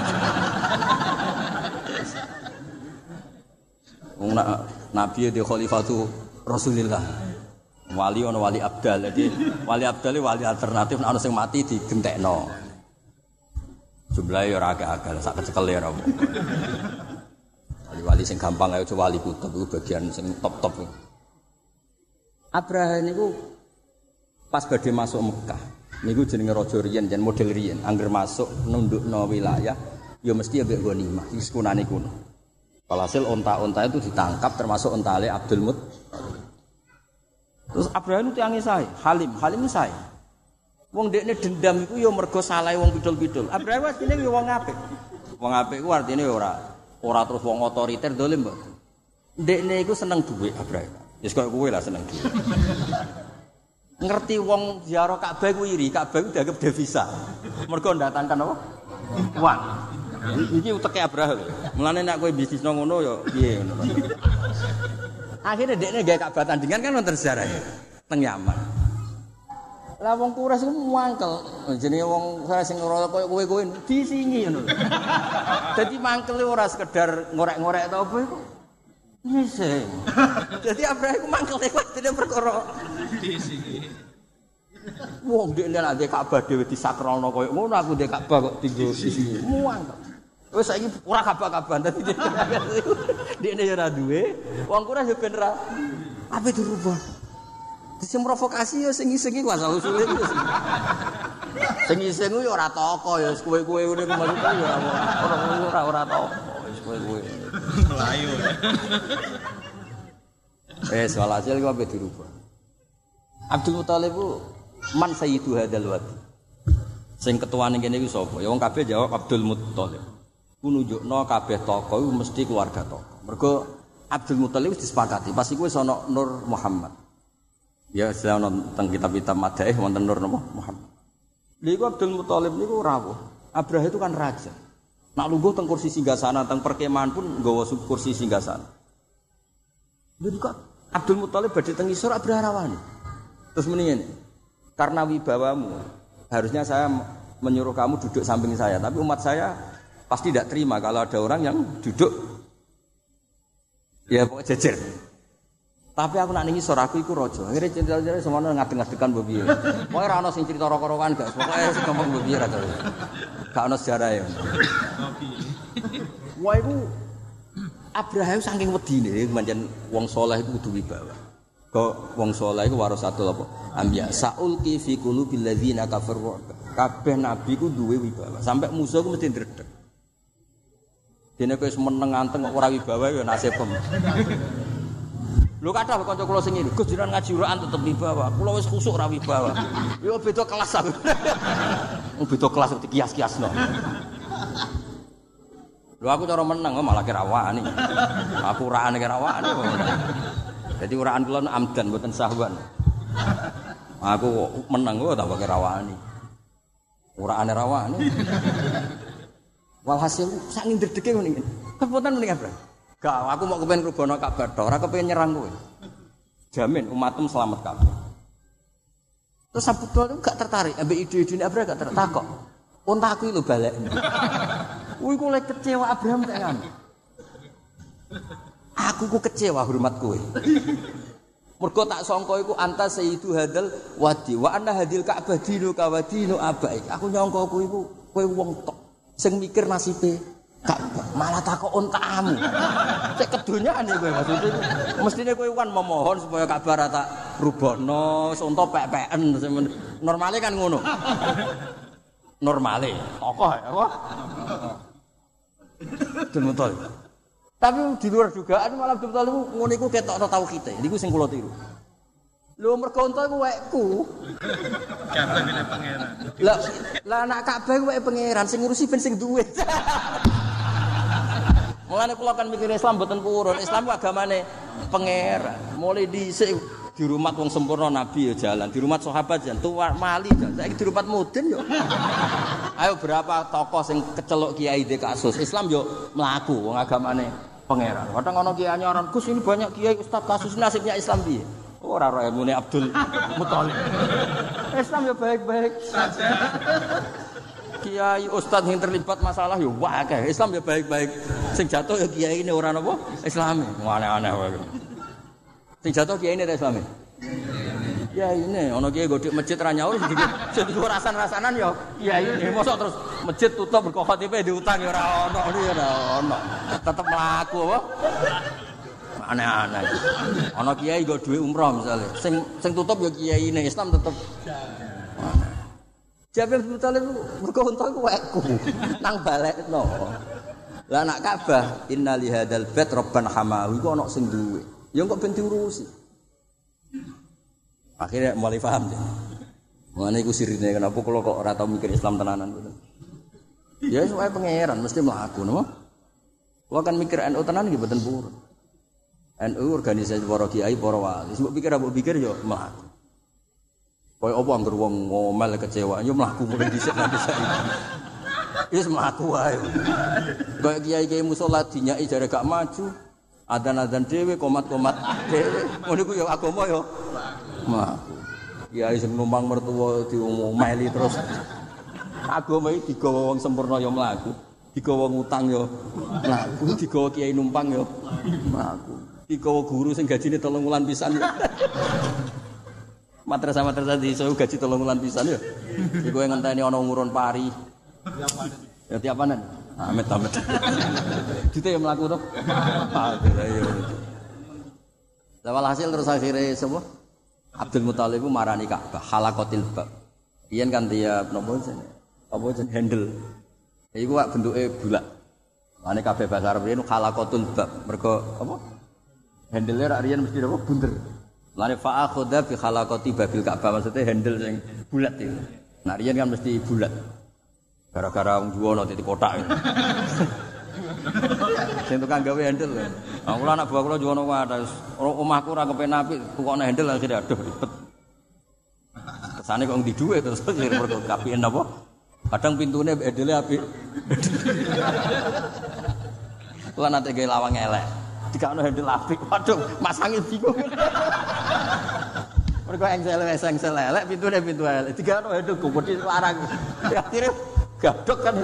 Wong nabi di khalifatu Rasulillah. Wali ana wali abdal. Jadi wali abdal wali alternatif ana sing mati digentekno. Jumlahe yo ora akeh-akeh sak kecekel ya ora. Wali-wali sing gampang ae wali kutub iku bagian sing top-top. Abraha niku pas badhe masuk Mekah. Niku jenenge raja riyen jan model riyen. Angger masuk nundukno wilayah ya mesti ambek ghanimah. Wis kunane kuno. Walhasil onta-onta itu ditangkap termasuk ontale Abdul Mut. Terus Abraha itu tiange sae, Halim, Halim sae. Wong dekne dendam iku ya mergo salahe wong pidul-pidul. Abraha asline ya wong apik. Wong apik ku artine ora ora terus wong otoriter dolim, Mbak. Dekne iku seneng dhuwit Abraha. Wis koyo kowe lah seneng dhuwit. Ngerti wong ziarah Ka'bah ku iri, Ka'bah ku dianggap devisa. Mergo ndatangkan apa? Uang. Iki uteke Abraha lho. Mulane nek kowe bisnis nang ngono ya piye ngono. Akhire dekne gawe Ka'bah tandingan kan wonten sejarah ya. Teng Yaman. Lah wong Quraisy ku mangkel. Jenenge wong sing ora koyo kowe-kowe disingi ngono. Dadi mangkele ora sekedar ngorek-ngorek ta apa iku. Ngising. Dadi Abraha iku mangkele dene perkara disingi. Wong dekne nek ndek Ka'bah dhewe disakralno koyo ngono aku ndek Ka'bah kok tinggo disingi. Mangkel. Wis saiki ora Ka'bah-Ka'bah dadi dekne ya ora duwe. Wong Quraisy ben ra ape dirubah. Sing provokasi ya sing iseng iku asal usule iku. Sing iseng ku ya ora toko ya kowe-kowe ngene ku maksud ya ora ora ora toko wis kowe-kowe. Melayu. Eh soal hasil ku ape dirubah. Abdul Muthalib ku man sayyidu hadzal wadi. Sing ketuane kene iku sapa? Ya wong kabeh jawab Abdul Muthalib. Ku nunjukno kabeh toko iku mesti keluarga toko. Mergo Abdul Muthalib wis disepakati pas iku wis ana Nur Muhammad. Ya saya nonton kitab-kitab Madaih wonten Nur Muhammad. Niku Abdul Muthalib niku rawuh. Abraha itu kan raja. Nak lungguh teng kursi singgasana teng perkemahan pun nggawa kursi singgasana. Lha kok Abdul Muthalib badhe teng isor Abraha rawani. Terus muni ngene. Karena wibawamu harusnya saya menyuruh kamu duduk samping saya, tapi umat saya pasti tidak terima kalau ada orang yang duduk ya pokok jejer. Tapi aku nak ning isor aku iku raja. Akhire cerita-cerita semono ngadeg-ngadegan mbok piye. Pokoke ora ana sing cerita roko-rokokan gak. Pokoke sing gampang mbok piye ra to. Gak ana sejarah ya. Wah iku Abraha saking wedine pancen wong saleh iku kudu wibawa. Kok wong saleh iku warasatul apa? Ambiya saulqi fi qulubil ladzina kafaru. Kabeh nabi ku duwe wibawa. Sampai musuh ku mesti ndredeg. Dene kowe wis meneng anteng ora wibawa ya nasibem. Lho kathah kanca kula sing ngene, Gus jenengan ngaji Quran tetep wibawa. Kula wis khusuk ora wibawa. Yo beda kelas aku. Wong beda kelas dikias-kiasno. Lho aku cara meneng malah kira wani. Aku urane kira wani. Jadi uraan kula amdan mboten sahwan. Aku meneng kok tambah kira wani. Uraane ra wani. Walhasil sak ndredege ngene iki. Kepunten mending apa? Gak, aku mau kepengen rubono Ka'bah tok, ora kepengen nyerang kowe. Jamin umatmu selamat kabeh. Terus Abu Thalib gak tertarik, ambek ide-idene Abraham gak tertarik kok. Untaku iki lho balekne. Kuwi ku lek kecewa Abraham tak kan. Aku ku kecewa hormat kowe. Mergo tak sangka iku anta sayyidu hadal wadi wa anna hadil Ka'bah dinu ka wadinu abaik. Aku nyangka kowe iku kowe wong tok sing mikir nasibe Ka'bah, malah takok ontamu. Cek kedonyane kowe maksudnya. Mestine kowe kan memohon supaya Ka'bah ra tak rubohno, sonto pek-peken. Normale kan ngono. Normale, tokoh apa? Betul. Tapi di luar dugaan malah betul niku ngono iku ketokno tauhid. Niku sing kula tiru. Lho mergo ento iku wekku. Ka'bah dene pangeran. Lah lah anak Ka'bah iku wek pangeran sing ngurusi ben sing duwe. Mulane kula kan mikir Islam mboten purun. Islam ku agamane pangeran. Mulai dhisik di rumah wong sempurna nabi ya jalan, di rumah sahabat jan tua mali jan. Saiki di rumah mudin yo. Ayo berapa tokoh sing keceluk kiai de kasus. Islam yo mlaku wong agamane pangeran. Kadang ana kiai nyoron, Gus ini banyak kiai ustaz kasus nasibnya Islam piye? Ora ora emune Abdul Muthalib. Islam yo baik-baik saja. Kiai ustaz yang terlibat masalah yo akeh. Islam yo baik-baik. Sing jatuh yo kiai ini ora napa? Islami. Aneh-aneh wae. Sing jatuh kiai ini ta Islami. Ya ini ana kiai godhek masjid ra nyaur sing rasan-rasanan yo kiai ini mosok terus masjid tutup berkah khatibe diutang yo ora ono ora ono. Tetep mlaku apa? Aneh-aneh. Ana kiai nggo dhuwit umroh misale. Sing sing tutup yo kiai ini Islam tetep Jabir bin Thalib mergo unta iku wekku nang balekno. Lah anak Ka'bah inna li hadzal bait rabban hamahu iku ana sing duwe. Ya kok ben diurusi. Akhirnya mulai paham ya. Mane iku sirine kenapa kula kok ora tau mikir Islam tenanan ngoten. Ya supaya pangeran mesti mlaku napa? Kula kan mikir N U tenan nggih mboten purun. N U organisasi para kiai para wali. Mbok pikir mbok pikir ya mlaku. Kaya apa anggere wong ngomel kecewa, yo mlaku mulai dhisik nanti saiki. Wis mlaku wae. Kaya kiai-kiai musala dinyaki jare gak maju, adzan-adzan dhewe, komat-komat dhewe. Ngono iku yo agama yo mlaku. Kiai sing numpang mertua diomeli terus. Agama iki digawa wong sempurna yo mlaku, digawa wong utang yo mlaku, digawa kiai numpang yo mlaku. Digawa guru sing gajine telung wulan pisan yo. Madrasah-madrasah di iso gaji telung wulan pisan ya. Iku ngenteni ana ngurun pari. Ya tiap panen. Amit-amit. Dite ya mlaku to. Ayo. Lah walhasil terus akhire sapa? Abdul Muthalib marani Ka'bah halaqatil bab. Yen kan dia napa jenenge? Apa jenenge handle. Iku wak bentuke bulat. Mane kabeh bahasa Arab riyen halaqatul bab. Mergo apa? Handle-e rak riyen mesti apa bunder. Lane fa akhadha bi khalaqati babil Ka'bah maksudnya handle sing bulat itu. Nah riyen kan mesti bulat. Gara-gara wong juwono titik kotak. Sing tukang gawe handle. Nah kula anak buah kula juwono wae omahku ora kepen apik tukokne handle akhire aduh ribet. Kesane kok ndi dhuwit terus mergo kapien apa? Kadang pintune handle apik. Kula nate gawe lawang elek. Jika ada handle apik, waduh, masangi bingung. Mereka engsel-engsel elek, pintu-pintu pintu elek. Jika ada handle gede larang. Akhirnya gadok kan.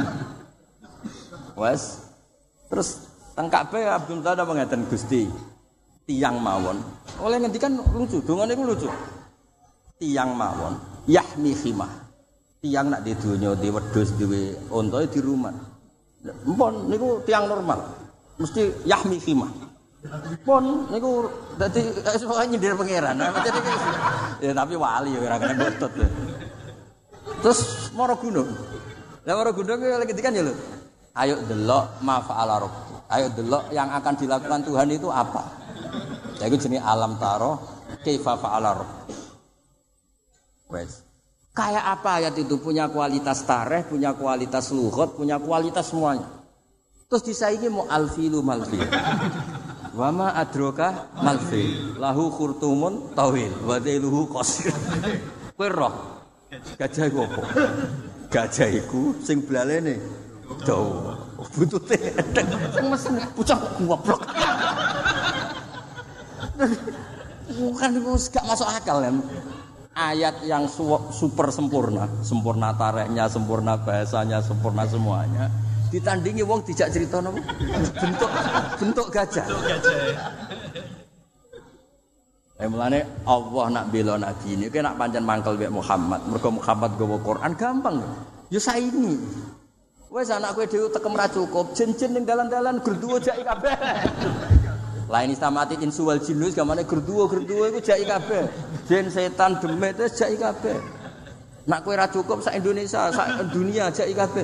Wes. Terus teng Ka'bah Abdul Muthalib mengatakan Gusti tiang mawon. Oleh ngendikan lucu, dongane iku lucu. Tiang mawon, yahmi khimah. Tiang nak di donya di wedhus duwe unta di rumah. Empun niku tiang normal. Mesti yahmi khimah. Pun niku dadi pokoke nyindir pangeran. Ya tapi wali ya ora kena botot. Terus mara gunung. Lah mara gunung lagi kan ya lho. Ayo delok ma fa'ala rabbi. Ayo delok yang akan dilakukan Tuhan itu apa? Ya iku jenenge alam taro kaifa fa'ala rabbi. Wes. Kayak apa ayat itu punya kualitas tarikh, punya kualitas lughat, punya kualitas semuanya. Terus disaingi mau alfilu malfil. Wa ma adraka malfil. Lahu khurtumun tawil wa dhailuhu qasir. Kowe roh gajah iku apa? Gajah iku sing blalene dawa. Buntute sing mesen pucah goblok. Bukan itu gak masuk akal kan. Ayat yang su- super sempurna, sempurna tarikhnya, sempurna bahasanya, sempurna semuanya. Ditandingi wong dijak cerita napa? Bentuk bentuk gajah. Bentuk gajah. Eh mulane Allah nak bela nabi ini, kowe nak pancen mangkel mek Muhammad, mergo Muhammad gawa Quran gampang. Ya saiki. Wes anak kowe dhewe tekem ra cukup, jin-jin ning dalan-dalan gerduwo jaki kabeh. Lain istamati insu wal jinus gamane gerduwo-gerduwo iku jaki kabeh. Jin setan demit wis jaki kabeh. Nak kowe ra cukup sak Indonesia, sak dunia jaki kabeh.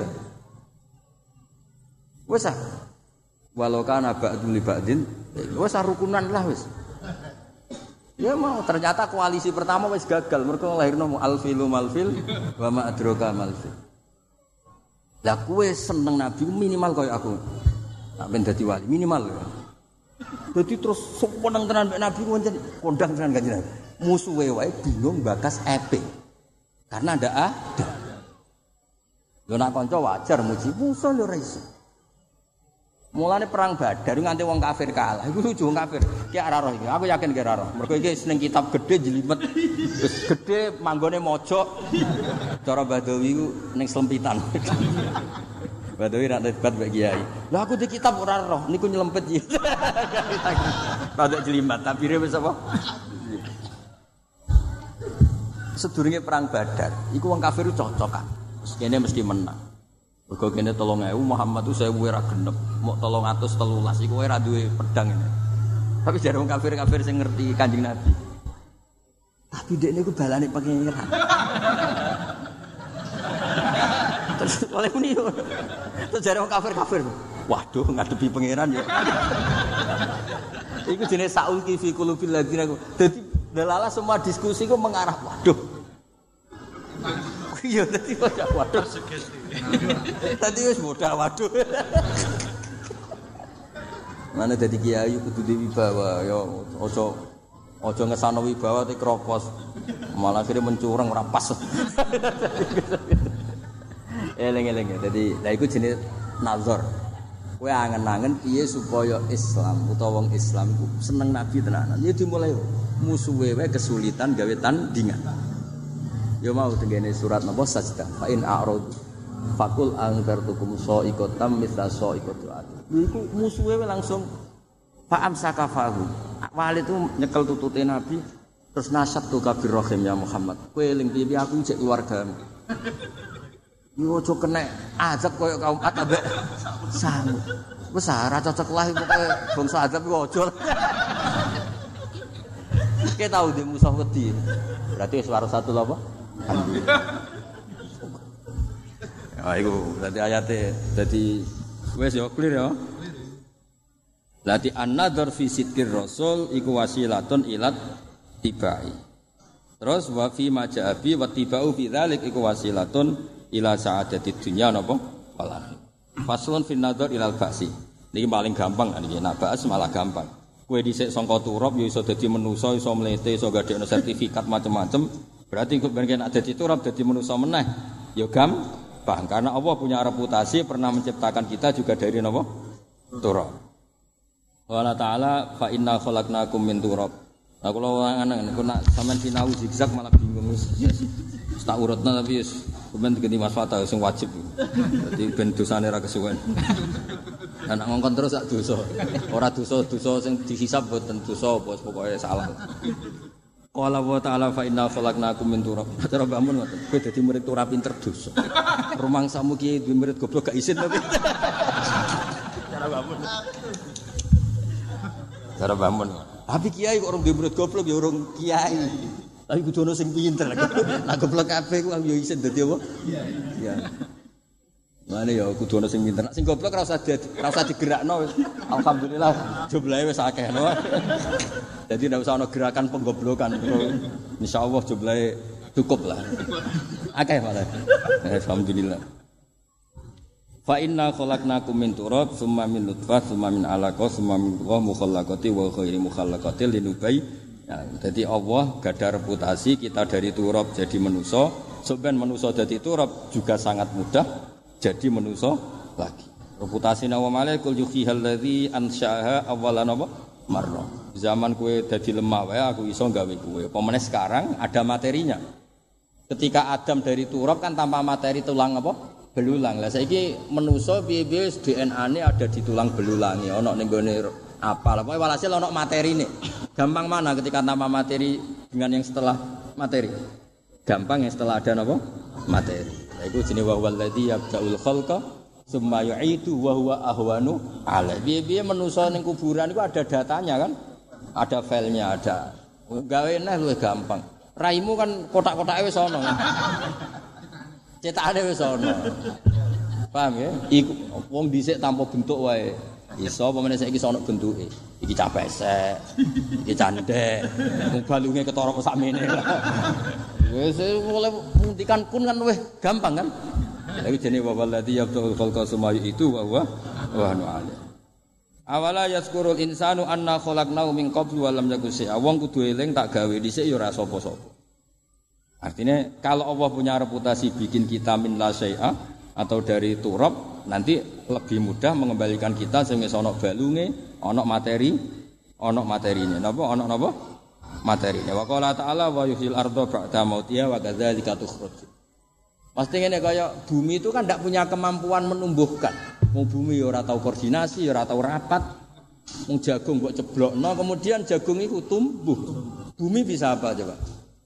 Wes ah. Walau kana ba'dul ba'din, wes rukunan lah wes. Ya mau ternyata koalisi pertama wes gagal mergo lahirno alfilu malfil wa ma adraka malfil. Lah kowe seneng nabi minimal koyo aku. Tak ben dadi wali minimal. Dadi terus seneng tenan mek nabi pancen kondang tenan kanjeng Nabi. Musuhe wae bingung bakas epe. Karena ndak ada. Lho nak kanca wajar muji musuh lho ora iso. Mulane perang Badar nganti wong kafir kalah. Iku lucu wong kafir. Ki ora roh iki. Aku yakin ki ora roh. Mergo iki seneng kitab gede jelimet. Wis gede manggone mojok. Cara Badawi ku ning slempitan. Badawi ra debat mbek kiai. Lah aku di kitab ora roh, niku nyelempet iki. Rada jelimet, tabire wis apa? Sedurunge perang Badar, iku wong kafir cocokan. Terus kene mesti menang. Mergo kene telung ewu Muhammad itu sewu ora genep, mok telung atus telulas iku ora duwe pedang ini. Tapi jare wong kafir-kafir sing ngerti Kanjeng Nabi. Tapi dekne iku balane pangeran. Terus oleh muni. Terus jare wong kafir-kafir. Waduh ngadepi pangeran ya. Iku jenenge saulki fi qulubil ladina. Dadi delala semua diskusi ku mengarah waduh. Iya dadi waduh. Tadi wis modal waduh. Mana dadi kiai kudu diwibawa ya aja aja ngesano wibawa te kropos. Malah akhire mencurang ora pas. Eleng-eleng dadi lha iku jenenge nazar. Kowe angen-angen piye supaya Islam utawa wong Islam iku seneng nabi tenanan. Ya dimulai musuhe wae kesulitan gawe tandingan. Ya mau tengene surat napa sajdah. Fa in a'rad fakul angkartukum sa'iqatam mithla sa'iqatu ad. Iku musuhe langsung fa'am sakafahu. Walid itu nyekel tutute nabi terus nasab tu kabir rahim ya Muhammad. Kowe eling piye aku cek keluargamu. Yo aja kena azab koyo kaum Ad ambek Samud. Wis ora cocok lah pokoke bangsa azab iku aja. Ki tau di musuh wedi. Berarti wis waro satu lho apa? Ah iku berarti ayate dadi wis yo clear ya. Lati an-nadhar fi sidqir rasul iku wasilatun ilat tibai. Terus wa fi maja'abi wa tibau fi dzalik iku wasilatun ila sa'adati dunya napa wal akhir. Faslun fi nadhar ilal ba'si. Niki paling gampang niki nak ba'as malah gampang. Kowe dhisik sangka turab ya iso dadi manusa, iso mlete, iso gadekno sertifikat macam-macam. Berarti kok ben nek dadi turab dadi manusa meneh. Ya gampang karena Allah punya reputasi pernah menciptakan kita juga dari napa? Turab. Wala ta'ala fa inna khalaqnakum min turab. Nah kula anak niku nak sampean sinau zigzag malah bingung wis. Tak urutna tapi wis ben ganti Mas Fatah sing wajib. Dadi ben dosane ra kesuwen. Lah nek ngongkon terus sak dosa. Ora dosa-dosa sing dihisab boten dosa apa pokoke salah. Qala wa ta'ala fa inna khalaqnakum min turab. Cara bangun ngoten. Kowe dadi murid ora pinter dosa. Rumangsamu ki duwe murid goblok gak isin tapi. Cara bangun. Cara bangun. Tapi kiai kok orang murid goblok ya orang kiai. Tapi kudu ono sing pinter. Lah goblok kabeh ku yo isin dadi apa? Iya. Mane ya kudu ono sing pinter. Sing goblok ora usah ora usah digerakno wis. Alhamdulillah jumlahe wis akeh. Jadi ndak usah ono gerakan penggoblokan. Insyaallah jumlahe cukup lah. Akeh malah. Alhamdulillah. Fa inna khalaqnakum min turab tsumma min nutfah tsumma min alaqah tsumma min mukhallaqati wa ghairi mukhallaqati linubai. Ya, jadi Allah gadah reputasi kita dari turab jadi manusa, sampeyan manusa dadi turab juga sangat mudah jadi manusa lagi. Reputasi nawa malaikul yuhihal ladzi ansya'aha awalan apa? Marra. Zaman kowe dadi lemah wae aku iso gawe kowe. Apa meneh sekarang ada materinya. Ketika Adam dari turab kan tanpa materi tulang apa? Belulang. Lah saiki manusa piye-piye D N A-ne ada di tulang belulange, ana ning gone apa. Lah pokoke walhasil ana materine. Gampang mana ketika tanpa materi dengan yang setelah materi? Gampang yang setelah ada apa? Materi. Lah iku jenenge wa wallazi yabda'ul khalqa tsumma yu'idu wa huwa ahwanu 'ala. Piye-piye manusa ning kuburan iku ada datanya kan? Ada filenya, ada. Gawe neh luwih gampang. Raimu kan kotak-kotake wis ana. Cetakane wis ana. Paham ya? Iku wong dhisik tanpa bentuk wae. Iso apa meneh saiki iso ana bentuke. Iki cah pesek, iki candhek, wong balunge ketara kok sakmene. Wis mulai nguntikan kun kan wis gampang kan? Lagi jenenge wa wallazi yabtul khalqa summa itu wa huwa wa nu'ala. Awala yazkurul insanu anna khalaqnahu min qablu wa lam yakun syai'a. Wong kudu eling tak gawe dhisik ya ora sapa-sapa. Artinya kalau Allah punya reputasi bikin kita min la syai'a atau dari turab, nanti lebih mudah mengembalikan kita sing wis ana balunge, ana materi, ana materine. Napa ana napa? Materine. Wa qala ta'ala wa yuhyil arda ba'da mautiha wa kadzalika tukhruj. Pasti ngene kaya bumi itu kan ndak punya kemampuan menumbuhkan. Mau bumi ya ora tau koordinasi, ya ora tau rapat. Wong jagung mbok ceblokno kemudian jagung itu tumbuh. Bumi bisa apa coba?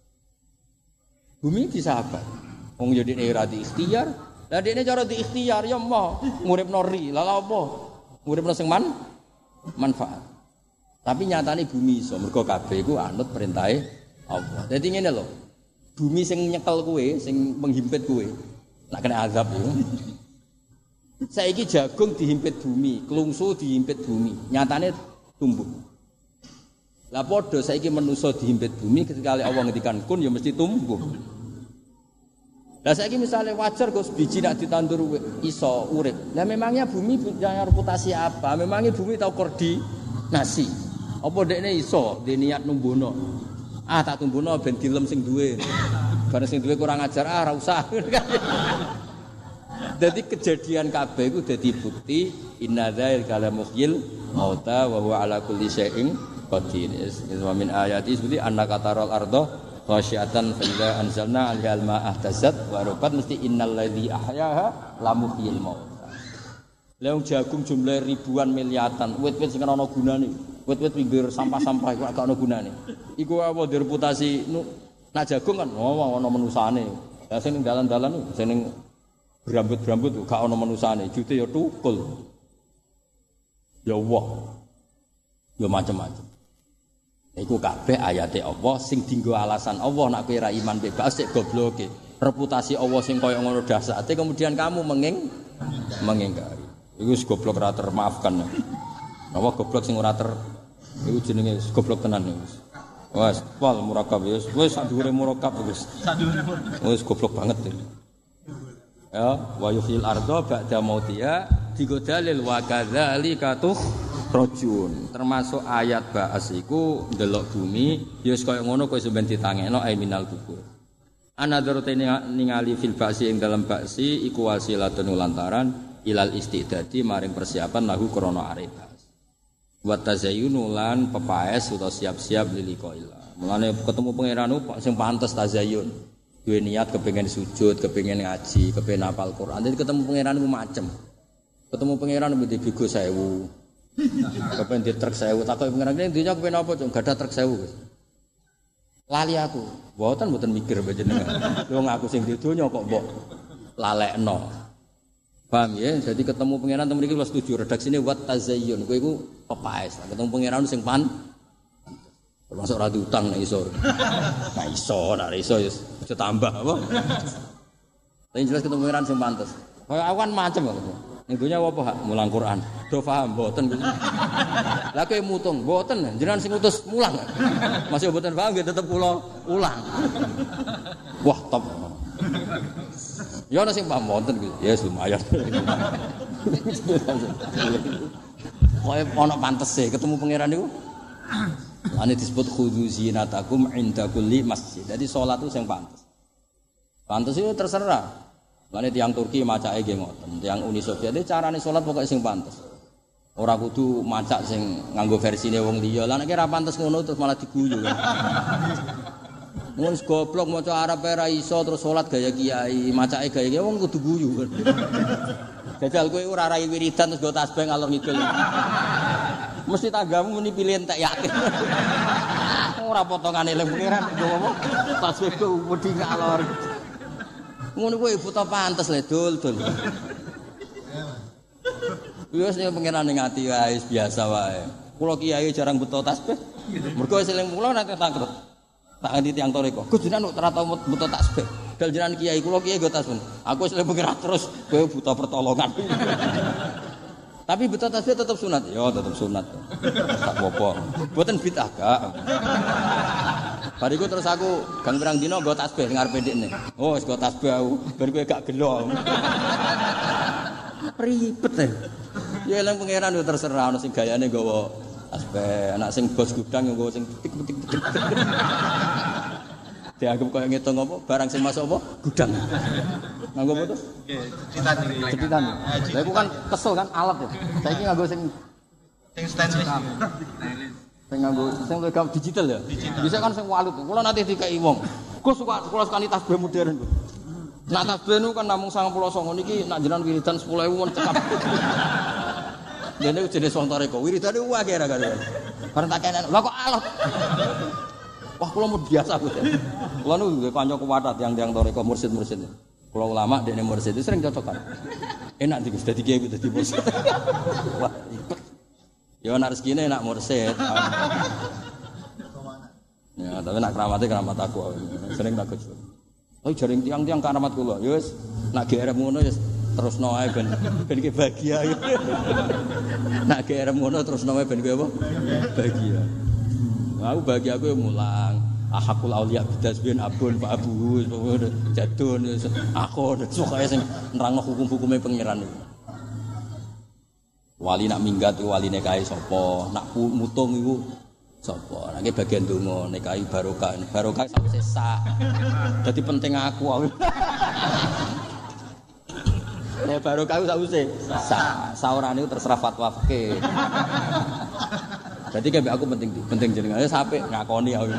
Bumi bisa apa? Wong yo dekne ora di ikhtiar. Lah dekne cara di ikhtiar ya moh nguripno ri. Lah lha apa? Nguripno sing man manfaat. Tapi nyatane bumi iso mergo kabeh iku anut perintahe Allah. Dadi ngene lho. Bumi sing nyekel kowe, sing menghimpit kowe, nak kena azab yo. Saiki jagung dihimpit bumi, klungsu dihimpit bumi. Nyatane tumbuh. Lah padha saiki manusa dihimpit bumi ketika Allah ngendikan kun ya mesti tumbuh. Lah saiki misale wajar Gus biji nak ditandur iso urip. Lah memangnya bumi punya reputasi apa? Memangnya bumi tau koordinasi. Apa dekne iso dhe niat numbuhno. Ah tak tumbuhno ben dilem sing duwe. Bareng sing duwe kurang ajar ah ora usah. Dadi kejadian kabeh iku dadi bukti inna dzalika la muhyil mauta wa huwa ala kulli syai'in qadir. Wa min ayati seperti annaka taral arda khasyiatan fa idza anzalna 'alal ma'a ihtazat wa rabat mesti innal ladzi ahyaha la muhyil mauta. Leung jagung jumlah ribuan miliatan, wit-wit sing ana gunane. Wit-wit pinggir sampah-sampah iku gak ana gunane. Iku apa direputasi nak jagung kan oh ana menusane. Lah sing ning dalan-dalan sing ning berambut-berambut gak ana menusane, jute ya tukul. Ya Allah. Ya macam-macam. Iku kabeh ayate Allah sing dienggo alasan Allah nak kowe ra iman bebas sik gobloke. Reputasi Allah sing kaya ngono dahsyate kemudian kamu menging mengingkari. Iku wis goblok ra termaafkan. Napa goblok sing ora ter iku jenenge goblok tenan wis. Wes pol murakab wis wis sak dhuwure murakab wis. Sak dhuwure murakab. Wis goblok banget iki. Ya, wa yuhyil arda ba'da mautiha digodalil wa kadzalika tukhrajun. Termasuk ayat ba'as iku ndelok bumi ya wis kaya ngono kok sampeyan ditangekno ai minal kubur. Anadzarate ningali fil ba'si ing dalam ba'si iku wasilatun lantaran ilal istidadi maring persiapan lahu krana arep. Wa tazayyunu lan pepaes utawa siap-siap lilikoila. Mulane ketemu pangeran sing pantes tazayyun. Duwe niat kepengin sujud, kepengin ngaji, kepengin hafal Quran. Dadi ketemu pangeran ku macem. Ketemu pangeran mesti bego sewu. Kepengin di truk sewu, takoki pangeran iki dunya kepengin apa, Cung? Gadah truk sewu, Gus. Lali aku. Mboten mboten mikir panjenengan. Lho ngaku sing di donya kok mbok lalekno. Paham ya? Jadi ketemu pangeran temen iki wis setuju redaksine wat tazayyun. Kowe iku pepaes. Ketemu pangeran sing pan termasuk ra diutang nek iso. Nah iso, nek iso ya aja tambah apa. Tapi jelas ketemu pangeran sing pantes. Kaya awan macem kok. Ning dunya apa hak mulang Quran. Do paham mboten. Lah kowe mutung mboten jenengan sing utus mulang. Masih mboten paham nggih tetep kula ulang. Wah, top. Ya ana sing paham wonten gitu. Ya lumayan. Kowe ana pantese ketemu pangeran niku. Ane disebut khudzu zinatakum inda kulli masjid. Jadi salat itu sing pantes. Pantes itu terserah. Lane tiyang Turki macake nggih ngoten. Tiyang Uni Soviet iki carane salat pokoke sing pantes. Ora kudu macak sing nganggo versine wong liya. Lah nek ora pantes ngono terus malah diguyu kan. Wong goblok maca Arab ora iso terus salat gaya kiai, macake gaya kiai wong kudu guyu kan. Jajal kowe ora rai wiridan terus go tasbih ngalor ngidul. Mesti tanggamu muni pilih entek yakin. Ora potongane eling pengiran go apa? Tasbih go wedi ngalor. Ngono kuwi buta pantes le dul-dul. Wis nek pengiran ning ati wae biasa wae. Kula kiai jarang buta tasbih. Mergo wis eling kula nek takut. Tak ngerti tiyang toreko. Gus jenengan ora tau buta tasbih. Dal jenengan kiai kula kiai go tasbih. Aku wis eling pengiran terus kowe buta pertolongan. Tapi buta tasbih tetap sunat. Ya tetap sunat. Tak apa-apa. Mboten bid'ah gak. Bariku terus aku gang pirang dina nggo tasbih ngarepe ndekne. Oh wis nggo tasbih aku. Bar kowe gak gelo. Ribet e. Ya eling pangeran yo terserah ana sing gayane nggawa tasbih, anak sing bos gudang yo nggawa sing tik-tik-tik. Dianggap koyo ngitung apa barang sing masuk apa gudang. Nganggo apa to? Nggih, jetitan iki. Jetitan. Lah iku kan kesel kan alat ya. Saiki nganggo sing sing stainless. Sing nganggo sing logam digital ya. Bisa kan sing walut. Kula nanti dikeki wong. Gus suka kula sekali tasbih modern. Nak tasbih niku kan namung sangang puluh songo niki nak jenengan wiridan sepuluh ribu won cekap. Dene jenis wong toreko wiridane wae ra karo. Bareng tak kenen. Lah kok alot. Wah kula mau biasa Gus. Kula niku nggih kanca kuwatah tiyang-tiyang toreko mursid-mursid. Kula ulama dekne mursid itu sering cocokan. Enak iki Gus dadi kiai dadi mursid. Wah, ribet. Ya ana rezekine enak mursid. Ya, tapi nak keramatnya keramat aku. Sering tak Gus. Oh jaring tiang-tiang keramat kula. Ya wis nak G R M ngono ya terusno ae ben ben ki bahagia. Nak G R M ngono terusno ae ben ki apa? Bahagia. Aku bahagia aku mulang. Ahakul auliya bidasbin abun Pak Abu jadun aku suka sing nerangno hukum-hukume pangeran niku. Wali nak minggat iku waline kae sapa? Nak mutung iku sapa? Nek bagian donga nek kae barokah, barokah sawise sak. Dadi penting aku. Nek barokah sawise sak. Saurane terserah fatwa fikih. Jadi kayak aku penting penting jenengan sampai ngakoni aku.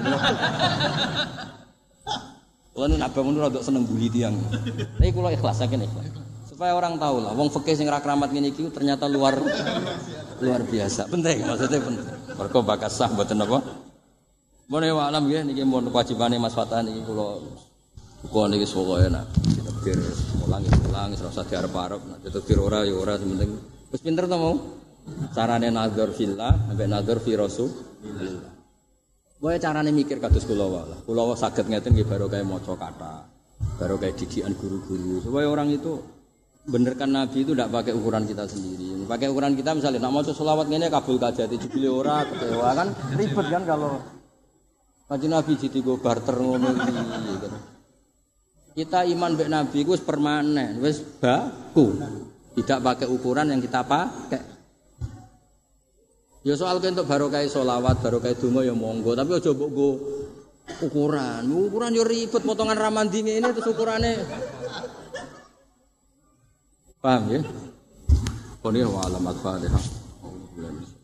Kulo nak bangun rada seneng bully tiyang. Tapi kulo ikhlas saking ikhlas. Supaya orang tahu lah wong fikih sing ra kramat ngene iki ternyata luar luar biasa. Penting maksudnya penting. Mergo bakas sah mboten apa. Mone wa alam nggih niki mun kewajibane Mas Fatan iki kulo kulo niki pokoke nak ditakdir mulang mulang ora usah diarep-arep nek ditakdir ora ya ora penting. Wis pinter to mau? Carane nazar fillah sampai nazar fi rasulillah. Wae carane mikir kados kula wae. Kula saged ngeten nggih barokah maca kata. Barokah didikan guru-guru. Supaya orang itu benerkan Nabi itu tidak pakai ukuran kita sendiri. Pakai ukuran kita misalnya nak maca selawat ngene kabul kajati jebule ora kecewa kan ribet kan kalau Kanjeng Nabi ditinggo barter ngono iki gitu. Kita iman mbek Nabi iku wis permanen, wis baku. Tidak pakai ukuran yang kita pakai. Ya soal kentuk barokah sholawat, barokah donga ya monggo, tapi aja mbok nggo ukuran. Ukuran yo ribet potongan ramandi ngene terus ukurane. Paham ya? Qul ya wa alamat Fatihah.